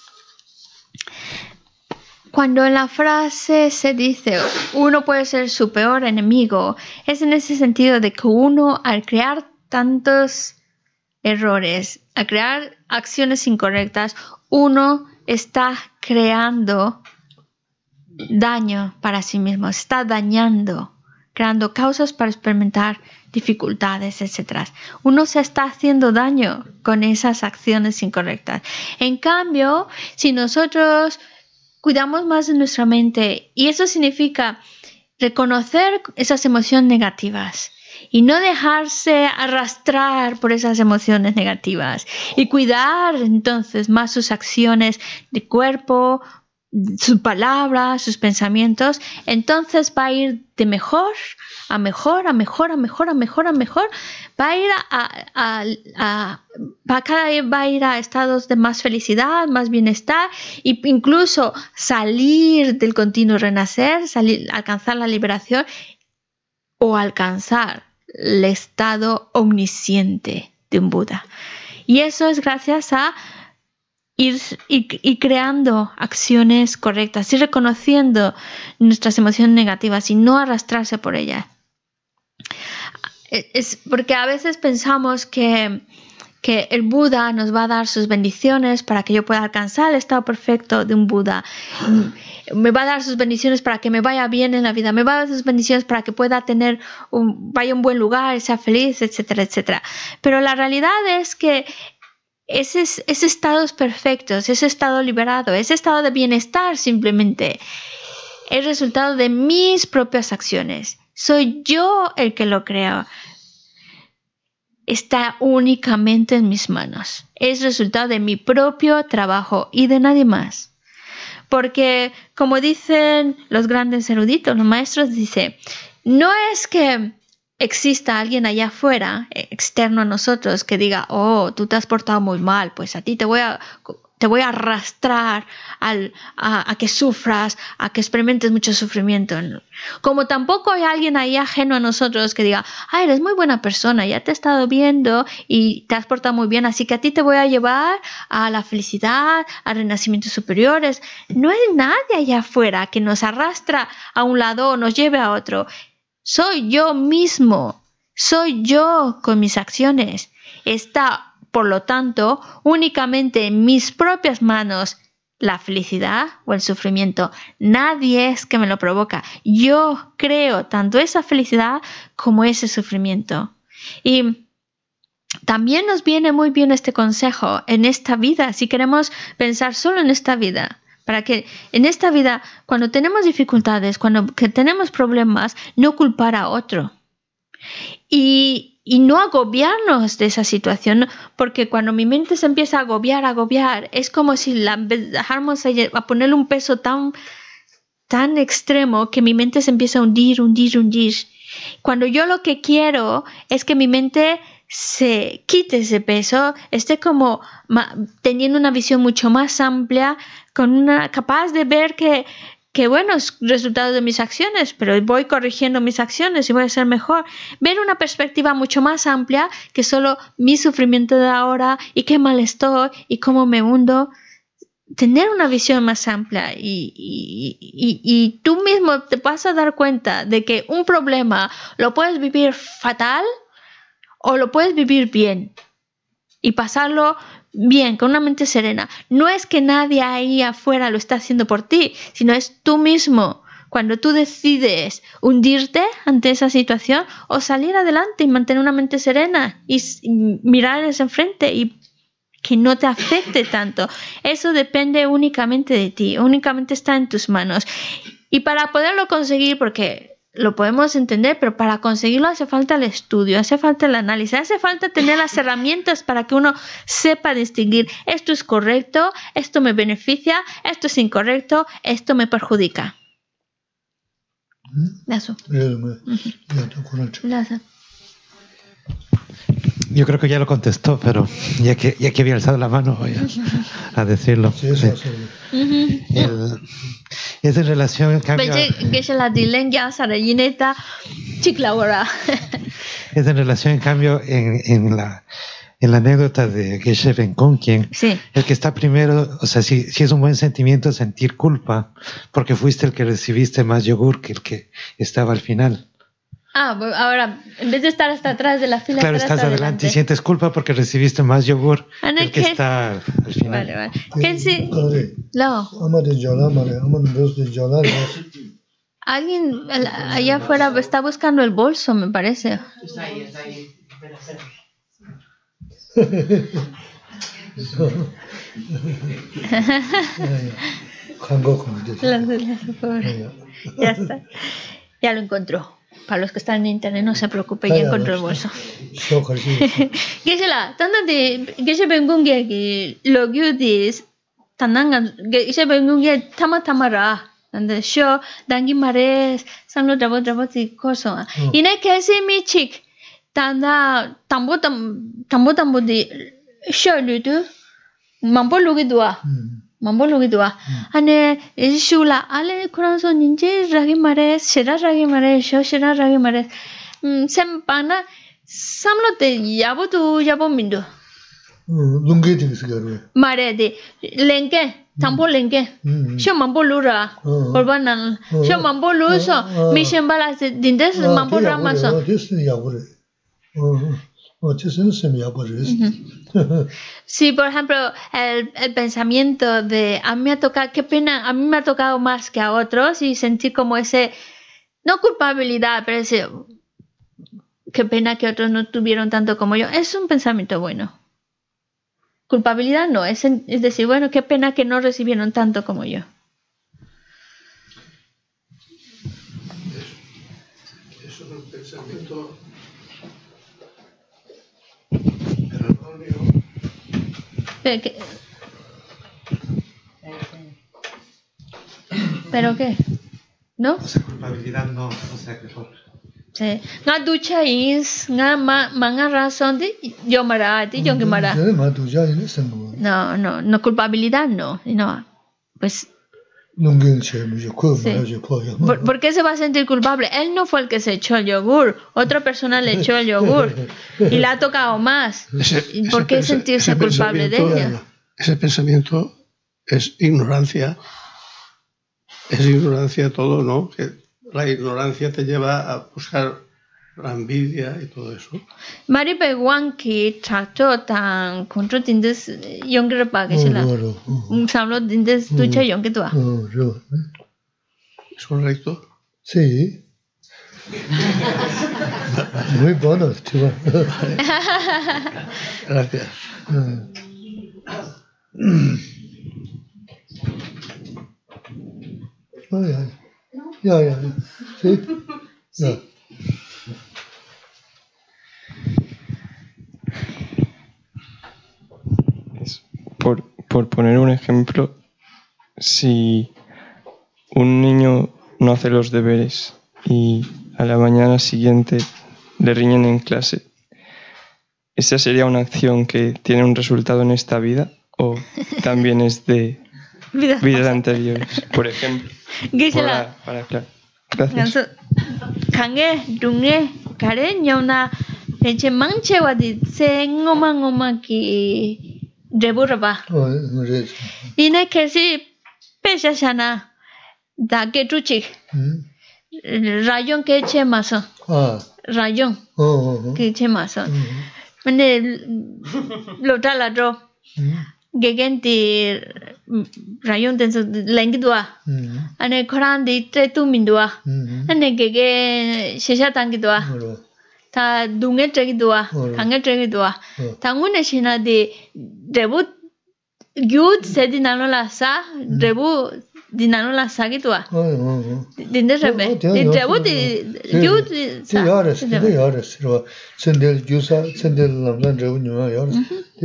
Cuando en la frase se dice uno puede ser su peor enemigo, es en ese sentido de que uno al crear tantos errores, al crear acciones incorrectas, uno está creando daño para sí mismo, está dañando, creando causas para experimentar dificultades, etcétera. Uno se está haciendo daño con esas acciones incorrectas. En cambio, si nosotros cuidamos más de nuestra mente, y eso significa reconocer esas emociones negativas y no dejarse arrastrar por esas emociones negativas y cuidar entonces más sus acciones de cuerpo, sus palabras, sus pensamientos, entonces va a ir de mejor a mejor, a mejor, a mejor, a mejor, a mejor. Va a ir a, a, a, a cada vez va a ir a estados de más felicidad, más bienestar, e incluso salir del continuo renacer, salir, alcanzar la liberación o alcanzar el estado omnisciente de un Buda. Y eso es gracias a Ir, y, y creando acciones correctas y reconociendo nuestras emociones negativas y no arrastrarse por ellas. Es porque a veces pensamos que, que el Buda nos va a dar sus bendiciones para que yo pueda alcanzar el estado perfecto de un Buda. Me va a dar sus bendiciones para que me vaya bien en la vida. Me va a dar sus bendiciones para que pueda tener un, vaya a un buen lugar, sea feliz, etcétera, etcétera. Pero la realidad es que ese, ese estado es perfecto, ese estado liberado, ese estado de bienestar simplemente es resultado de mis propias acciones. Soy yo el que lo creo. Está únicamente en mis manos. Es resultado de mi propio trabajo y de nadie más. Porque, como dicen los grandes eruditos, los maestros, dice, no es que exista alguien allá afuera, externo a nosotros, que diga, oh, tú te has portado muy mal, pues a ti te voy a, te voy a arrastrar al, a, a que sufras, a que experimentes mucho sufrimiento. Como tampoco hay alguien ahí ajeno a nosotros que diga, ah, eres muy buena persona, ya te he estado viendo y te has portado muy bien, así que a ti te voy a llevar a la felicidad, a renacimientos superiores. No hay nadie allá afuera que nos arrastra a un lado o nos lleve a otro. Soy yo mismo, soy yo con mis acciones. Está, por lo tanto, únicamente en mis propias manos la felicidad o el sufrimiento. Nadie es que me lo provoca. Yo creo tanto esa felicidad como ese sufrimiento. Y también nos viene muy bien este consejo en esta vida, si queremos pensar solo en esta vida. Para que en esta vida, cuando tenemos dificultades, cuando que tenemos problemas, no culpar a otro. Y, y no agobiarnos de esa situación, porque cuando mi mente se empieza a agobiar, agobiar, es como si la dejáramos a, a ponerle un peso tan, tan extremo que mi mente se empieza a hundir, hundir, hundir. Cuando yo lo que quiero es que mi mente se quite ese peso, esté como ma, teniendo una visión mucho más amplia, con una capaz de ver que, que bueno, es resultado de mis acciones, pero voy corrigiendo mis acciones y voy a ser mejor. Ver una perspectiva mucho más amplia que solo mi sufrimiento de ahora y qué mal estoy y cómo me hundo. Tener una visión más amplia y, y, y, y tú mismo te vas a dar cuenta de que un problema lo puedes vivir fatal o lo puedes vivir bien y pasarlo bien, con una mente serena. No es que nadie ahí afuera lo está haciendo por ti, sino es tú mismo. Cuando tú decides hundirte ante esa situación o salir adelante y mantener una mente serena y, y mirar hacia enfrente y que no te afecte tanto. Eso depende únicamente de ti, únicamente está en tus manos. Y para poderlo conseguir, porque lo podemos entender, pero para conseguirlo hace falta el estudio, hace falta el análisis, hace falta tener las herramientas para que uno sepa distinguir esto es correcto, esto me beneficia, esto es incorrecto, esto me perjudica. Eso. Yo creo que ya lo contestó, pero ya que, ya que había alzado la mano voy a, a decirlo. Sí, eso, eso. El, es en relación, en cambio... Es en relación, en cambio, en, en, la, en la anécdota de Geshe Benkong, quien sí. El que está primero, o sea, si, si es un buen sentimiento sentir culpa, porque fuiste el que recibiste más yogur que el que estaba al final. Ah, ahora, en vez de estar hasta atrás de la fila, claro, estás adelante, adelante y sientes culpa porque recibiste más yogur que el que está al, al final. Vale, vale. ¿Qué sí? No. Alguien allá afuera está buscando el bolso, me parece. Está ahí, está ahí. Ya está. Ya lo encontró. Para los que están en internet, no se preocupe, ya encontró el bolso. Geshe-la, tanto de Geshe Benkong que lo que dice, tananga Geshe Benkong que tama tamara, tanto show dangi mares, sanlo drabo drabo ti koso. Ine kesi mi chik, tanda tambo tam tambo tambo di show lutu, mambo lugi dua. mambo lugi dua ane shula ale kuranso ninje ragi mare shira ragi mare sho shira ragi mare sempana samlo te yabo tu yabo mindo lunge de sigaro mare de lenke tambo lenke sho mambo lura korbanan sho mambo luso mi shembala dindes mambo ramaso Sí, por ejemplo, el, el pensamiento de a mí me ha tocado, qué pena, a mí me ha tocado más que a otros y sentir como ese, no culpabilidad, pero ese, qué pena que otros no tuvieron tanto como yo, es un pensamiento bueno. Culpabilidad no, es, es decir, bueno, qué pena que no recibieron tanto como yo. Eso es un pensamiento erróneo. ¿Pero qué? ¿Pero qué? ¿No? O sea, culpabilidad no, o sea, que por... Sí. Nga ducha is, nga ma, manga razón de yo mara, de yo que mara. No, no, no culpabilidad no, no. Pues sí. ¿Por, ¿Por qué se va a sentir culpable? Él no fue el que se echó el yogur, otra persona le echó el yogur y le ha tocado más. Ese, ¿Por qué ese, sentirse ese culpable de ella? Ese pensamiento es ignorancia. Es ignorancia todo, ¿no? Que la ignorancia te lleva a buscar la envidia y todo eso. Mari Beguan que trató tan contra tindes younger package la. Un samlo tindes ducha young que tú. ¿Es correcto? Sí. Muy bueno, chico. Gracias. Oh, ya, ya, ya, ya. Sí. Sí. Por, por poner un ejemplo, si un niño no hace los deberes y a la mañana siguiente le riñen en clase, ¿esa sería una acción que tiene un resultado en esta vida o también es de vidas anteriores? Por ejemplo, para, para claro. Gracias. Kange, dunge, kare nyona, eche manche wadi se ngoma ngoma ki deburaba. Ine kesi pesha shana da ke tuchi. Rayon ke eche maso. Rayon ke eche maso. Mane lota la dro. Gegenti rayon tenso lengi dua. Ane koran di tre tu min dua. Ane gege shesha tangi dua. Ta dunge tregi dua. Kange tregi dua. Tangune shina di debu gyud se di nano la sa. Debu di nano la sa ki dua. Dinde rebe. Di debu di gyud sa. Di yares, di yares. Sendel gyusa, sendel lamdan debu nyuma yares.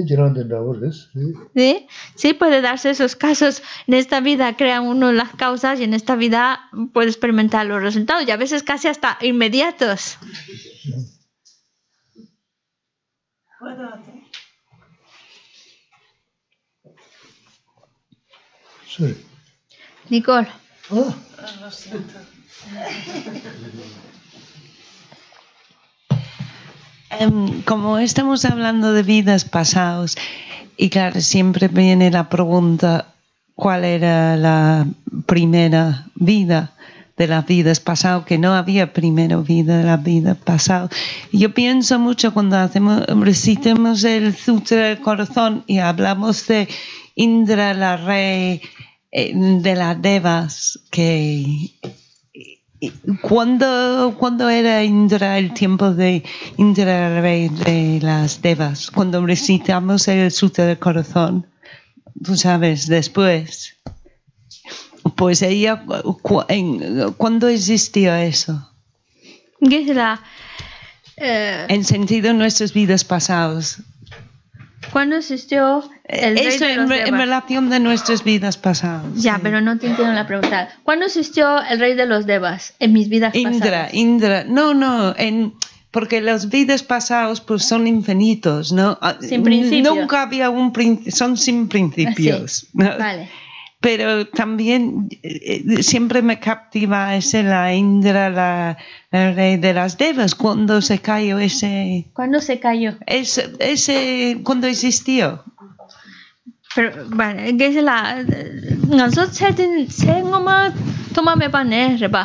Sí, sí puede darse esos casos. En esta vida crea uno las causas y en esta vida puede experimentar los resultados y a veces casi hasta inmediatos. Sorry. Nicole. Oh. Lo siento. Um, como estamos hablando de vidas pasadas, y claro, siempre viene la pregunta, ¿cuál era la primera vida de las vidas pasadas? Que no había primera vida de la vida pasada. Yo pienso mucho cuando hacemos, recitamos el Sutra del Corazón y hablamos de Indra, la rey de las devas, que... ¿Cuándo, ¿Cuándo era Indra el tiempo de Indra, rey de las devas? Cuando recitamos el Sutra del Corazón, tú sabes, después. Pues ella, ¿cuándo existió eso? Gisela, eh, en sentido de nuestras vidas pasadas. ¿Cuándo existió el rey Eso de los en, devas? En relación de nuestras vidas pasadas. Ya, sí. Pero no te entiendo la pregunta. ¿Cuándo existió el rey de los devas en mis vidas Indra, pasadas? Indra, no, no, en, porque las vidas pasadas pues son infinitos, ¿no? Sin principio. Nunca había un principio, son sin principios. Sí. ¿no? Vale. Pero también eh, siempre me captiva ese la Indra, la, la rey de las devas, cuando se cayó ese... ¿Cuándo se cayó? Ese, ese cuando existió. Pero, vale, que es la... Nosotros se ngoma toma me pane, reba.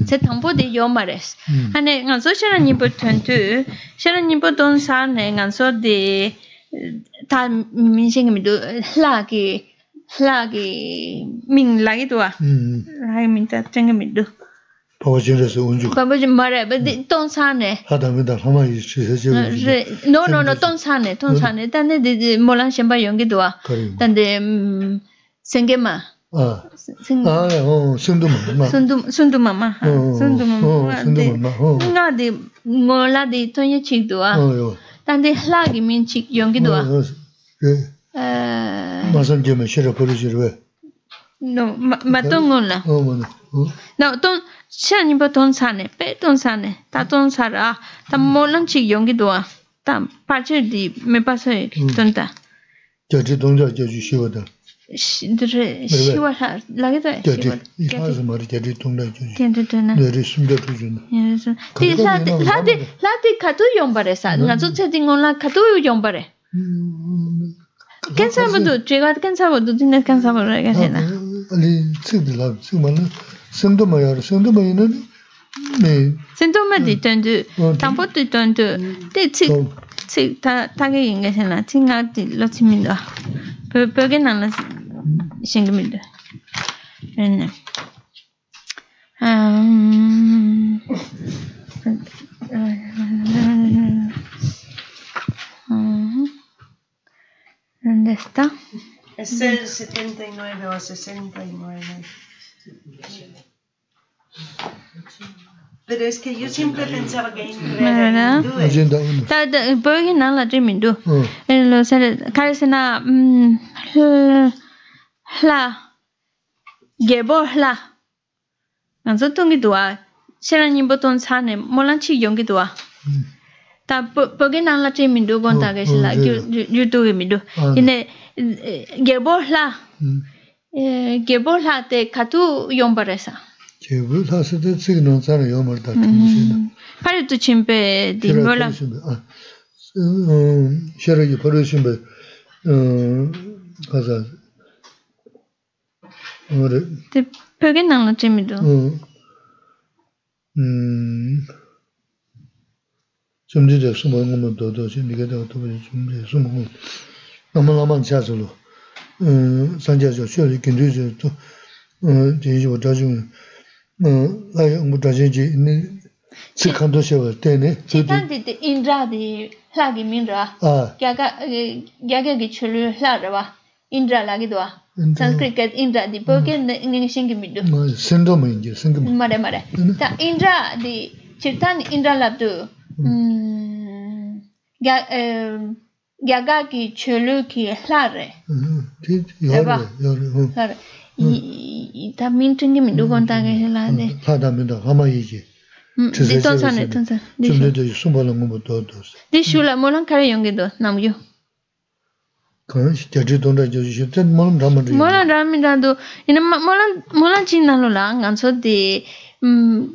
se tampo de yomares ane nganso shara nimpo tentu shara nimpo don sa ne nganso de ta min sing mi do la ki la ki min la ki do a la min ta teng mi do 파워진에서 온주 바보지 말해 don sa ne 하다면다 하마이 시세지 no no no don sa ne don sa ne 단데 de molan shamba yongi do a 단데 생게마 아, 아, 어, 순두마, 순두 순두마마, 순두마마, 순두마마, 어, 나디 몰라디 토니 치도아, 어, 단데 할라기 민치 용기도아, 예, 에, 마산 점에 실어 버리지를 왜? no, 마동올라, 어, 뭐네, 어, no, 돈 시안이 보통 사네, 빼돈 사네, 다돈 사라, 다 몰란 치 용기도아, 다 파츠디 메파서에 돈다. 저지 동자 저지 쉬워다. 들 시와 라게도 저지 이하서 말이 저지 동자 저지. 된된나. 내리 숨겨 주는. 그래서 디라디 라디 라디 카도 용바레사. 나저 채팅올라 카도 용바레. 캔사부도 제가 캔사부도 진짜 캔사부를 해야겠나. 아니 쓰들라 쓰면은 생도 마야 생도 마이는 네. 생도마디 던드 담보도 던드 대치 치 타게 인게잖아. 팅아디 로치민도. 벽에 나는 생깁니다. 네. 음. ¿Dónde está? Es el setenta y nueve o sesenta y nueve. Pero es que yo siempre pensaba que ¿verdad? Ta ta porque no la tremendo. En los carecena la llevo la. Anzo tongi doa. Serani boton sane molanchi yongi doa. Ta porque no la tremendo conta que se la YouTube mi do. Ine llevo la. llevo la te katu yombaresa. 제부 사스도 지금 사는 요머다 팀이시네. 파리도 침배 디몰라. 아. 음, 셔러기 버르신 배. 어, 가자. 뭐래? 데 벽에 나는 재미도. 어. 음. 좀 이제 숨어는 것도 좀 네가 더 좀 숨어. 너무 너무 자주로. 음, 산자죠. 쇼리 근데도 또 어, 제지 못하지만 음, 아이 못하지 네 시간도 세워 때네. 지단데 인드라디 라기 민드라. 아. 야가 야가기 출루 라르와. 인드라 라기도아. 산스크리트 인드라디 porque ning singimido. 뭐 신도면 이제 생각. 말해 말해. 자 인드라디 지단 인드라 랍도 음. 야 야가기 출루기 라레. 음. 디 요래 요래. 라레. 이 también tengo mi duda contar que es la de 하다면다 하마이지 디톤산에 디톤산 좀더 숨어는 거 더더스 디슈라 몰랑 카레 용게도 남요 그건 진짜 돈다 저지 전 몰랑 담아도 몰랑 담이다도 이는 몰랑 몰랑 진나로라 간소디 음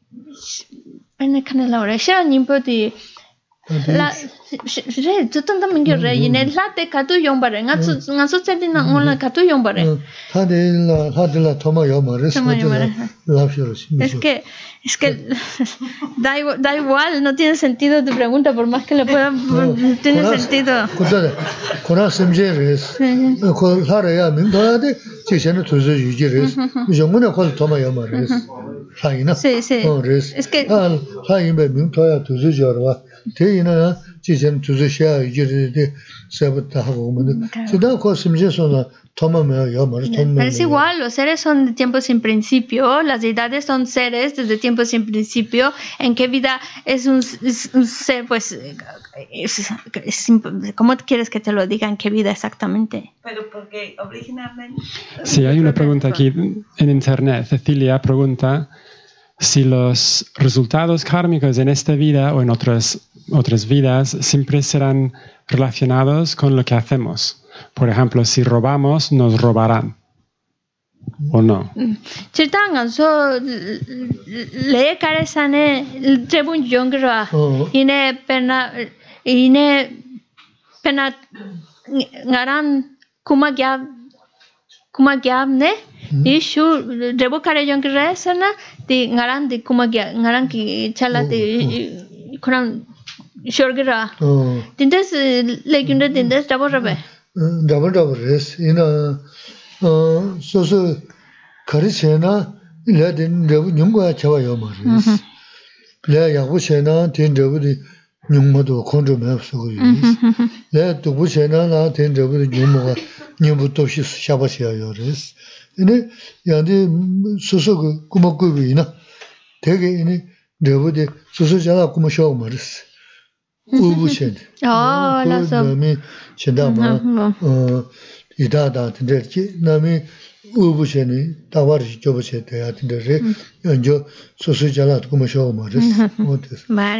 아니 카넬라오라 샤님포디 la re tu tanta mingyo re yine latte katu yombare nga su nga su tsedi na ngola katu yombare hadela hadela toma yomare la fiorosi es que es que da igual, da igual no tiene sentido tu pregunta por más que le pueda no tiene sentido 그다음에 코나 semjeres 그 하래야 민도야데 지세는 두서 유지res 정문에 걸 toma yomares 하이나 sí sí es que 하이면 민도야 두서 저와 대인은 지전 두서셔 이제데 세부터 하고 오면 지다 그 심지어서 tomame yomares pero es igual los seres son de tiempo sin principio las deidades son seres desde tiempo sin principio en qué vida es un, es un ser pues es, es, ¿cómo quieres que te lo diga en qué vida exactamente? Pero porque originalmente sí hay una pregunta aquí en internet. Cecilia pregunta si los resultados kármicos en esta vida o en otras otras vidas siempre serán relacionados con lo que hacemos. Por ejemplo, si robamos, nos robarán. ¿O no? Chirtangan so le caresane trebun jongra ine pena ine pena ngaran kuma gyab kuma gyab ne Di shu rebo kare yon ki resana di ngaran di kuma gya ngaran ki chala di kuran shorgira. Tindes legunda tindes rebo rebe. Rebo rebo res. Ina so so kare chena le din rebo nyungwa chawa yo ma res. Le yabu chena tin rebo di nyungma do kondro me so yo. Le dubu chena na tin rebo di nyungma nyumbu to shi shaba shi yo res. ine yandi soso kuma kubi ina 되게 ine rebo de soso jala kuma sho maris ubu chen oh la so nami chenda ma ida da tinderchi nami ubu chen tawar jobo che te atindere yo soso jala kuma sho maris vale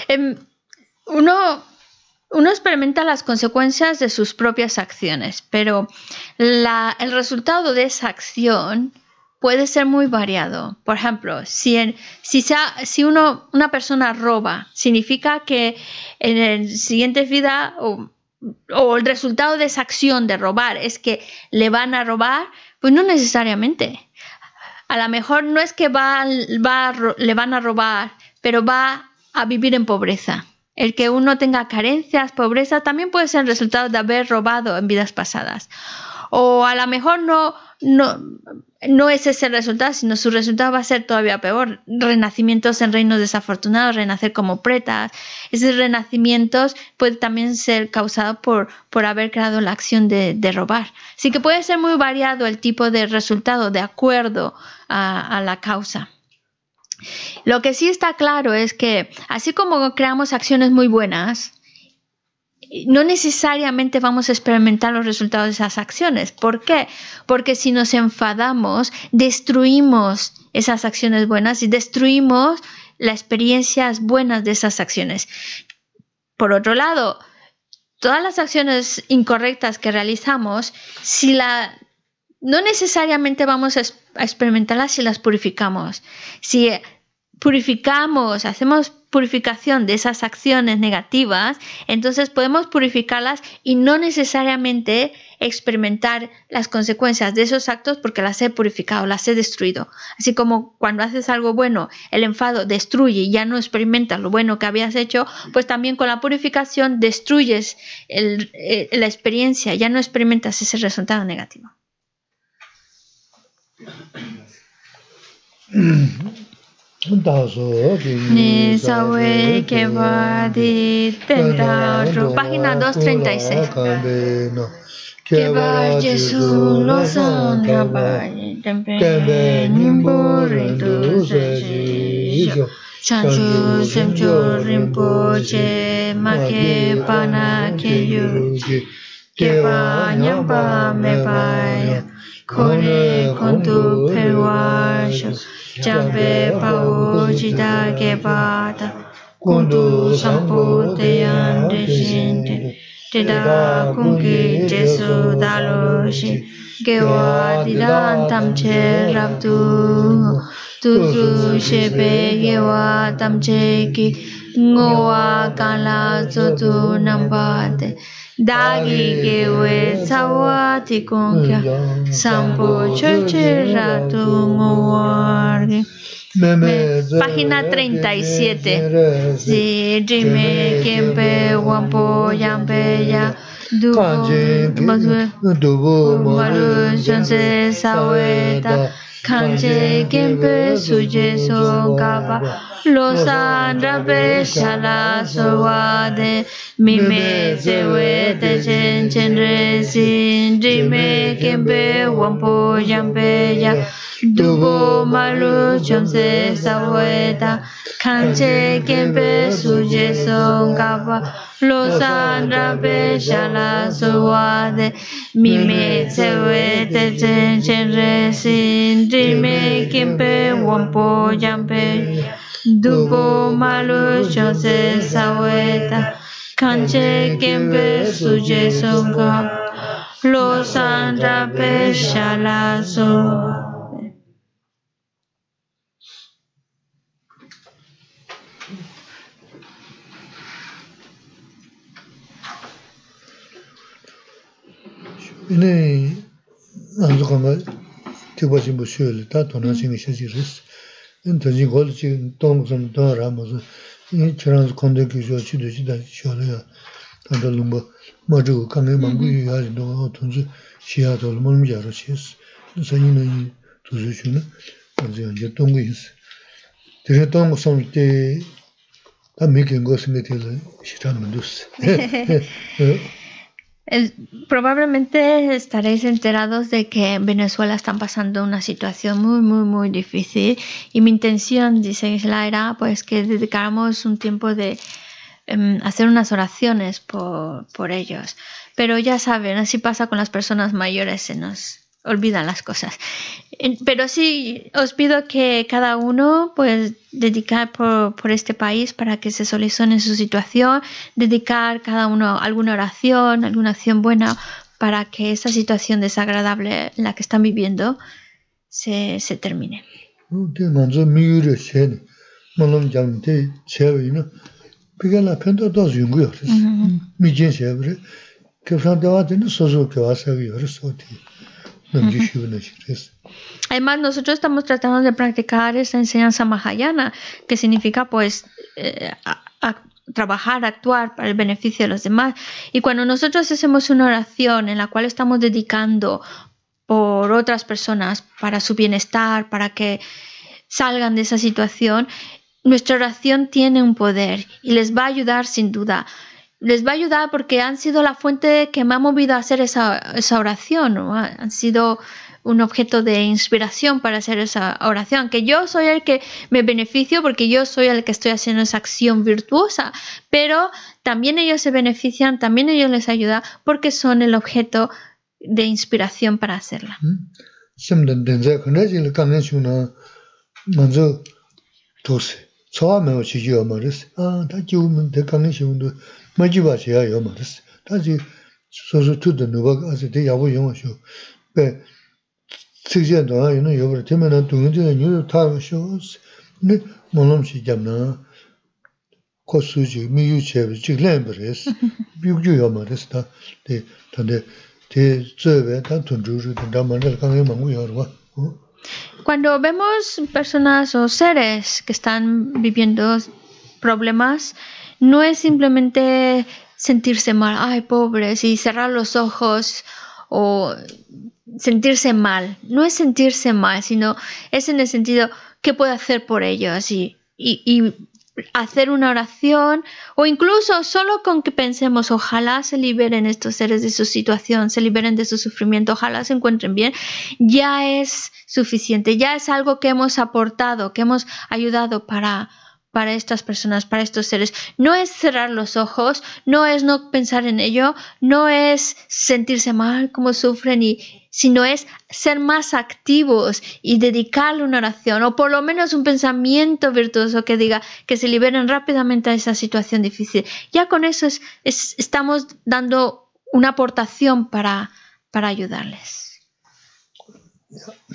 uno Uno experimenta las consecuencias de sus propias acciones, pero la, el resultado de esa acción puede ser muy variado. Por ejemplo, si, en, si, sea, si uno, una persona roba, significa que en el siguiente vida o, o el resultado de esa acción de robar es que le van a robar, pues no necesariamente. A lo mejor no es que va, va, le van a robar, pero va a vivir en pobreza. El que uno tenga carencias, pobreza, también puede ser el resultado de haber robado en vidas pasadas. O a lo mejor no, no, no es ese el resultado, sino su resultado va a ser todavía peor. Renacimientos en reinos desafortunados, renacer como pretas. Esos renacimientos pueden también ser causados por, por haber creado la acción de, de robar. Así que puede ser muy variado el tipo de resultado de acuerdo a, a la causa. Lo que sí está claro es que así como creamos acciones muy buenas, no necesariamente vamos a experimentar los resultados de esas acciones. ¿Por qué? Porque si nos enfadamos, destruimos esas acciones buenas y destruimos las experiencias buenas de esas acciones. Por otro lado, todas las acciones incorrectas que realizamos, si la no necesariamente vamos a experimentarlas si las purificamos. Si purificamos, hacemos purificación de esas acciones negativas, entonces podemos purificarlas y no necesariamente experimentar las consecuencias de esos actos porque las he purificado, las he destruido. Así como cuando haces algo bueno, el enfado destruye y ya no experimentas lo bueno que habías hecho, pues también con la purificación destruyes el, el, la experiencia, ya no experimentas ese resultado negativo. Ni sabe que va de dentro. Página doscientos treinta y seis. Que va Jesús los andrabai, tempe nimbore dulce. Chanchu semcho rinpoche, make pana que yuji. Que va nyamba me vaya. Kone kontu perwasho, jambe pao jida gebata, kundu sampo te ande jinte, te da kungi jesu daloshi, gewa didan tamche rabdu, tuzu shebe gewa tamche ki, ngowa kala zotu nambate. Dagi gewe sawa tikongya sampo choche ratu nguargi. Página treinta y siete. Si jime kempe wampo yampe ya dubu malu shonse saweta kanje kempe suje songaba. Los andrabe shala sowade mime sewe te chen chen resin jime kembe wampo yampe ya dubo malu chomse saweta kanche kembe suje songaba los andrabe shala sowade mime sewe te chen chen resin jime kembe wampo yampe Dubo malu chose saweta, kanche kembe suje songa, los andrabe shalazo. Ini anzu kama tiba jimbo shuyole, ta tona jingi shaji res. Tanji gol chi tong sam tong ramazo, chirang konde ki shuwa chido chida shuwa ya, tanda lumba mazu kange mangu yu yari donga tonzu shiya tolo molmi jaro chiyas. Sa yina yi tuzu shuna, tanzi yanja tongu yis. Tere tong sam te, ta miki ngo singe tila shiran mandus. Probablemente estaréis enterados de que en Venezuela están pasando una situación muy, muy, muy difícil y mi intención, dice Gisela, era pues que dedicáramos un tiempo de um, hacer unas oraciones por, por ellos. Pero ya saben, así pasa con las personas mayores, se nos olvidan las cosas. Pero sí, os pido que cada uno pues dedicar por, por este país para que se solucione su situación, dedicar cada uno alguna oración, alguna acción buena para que esa situación desagradable en la que están viviendo se, se termine. Además, nosotros estamos tratando de practicar esa enseñanza mahayana, que significa pues eh, a, a trabajar, actuar para el beneficio de los demás. Y cuando nosotros hacemos una oración en la cual estamos dedicando por otras personas para su bienestar, para que salgan de esa situación, nuestra oración tiene un poder y les va a ayudar sin duda. Les va a ayudar porque han sido la fuente que me ha movido a hacer esa, esa oración, ¿no? Han sido un objeto de inspiración para hacer esa oración, que yo soy el que me beneficio porque yo soy el que estoy haciendo esa acción virtuosa, pero también ellos se benefician, también ellos les ayuda porque son el objeto de inspiración para hacerla. Cuando vemos personas o seres que están viviendo problemas, no es simplemente sentirse mal, ay, pobres, y cerrar los ojos o sentirse mal. No es sentirse mal, sino es en el sentido, ¿qué puedo hacer por ellos? Y, y, y hacer una oración, o incluso solo con que pensemos, ojalá se liberen estos seres de su situación, se liberen de su sufrimiento, ojalá se encuentren bien, ya es suficiente, ya es algo que hemos aportado, que hemos ayudado para, para estas personas, para estos seres. No es cerrar los ojos, no es no pensar en ello, no es sentirse mal como sufren, y, sino es ser más activos y dedicarle una oración o por lo menos un pensamiento virtuoso que diga que se liberen rápidamente de esa situación difícil. Ya con eso es, es, estamos dando una aportación para, para ayudarles. Yeah.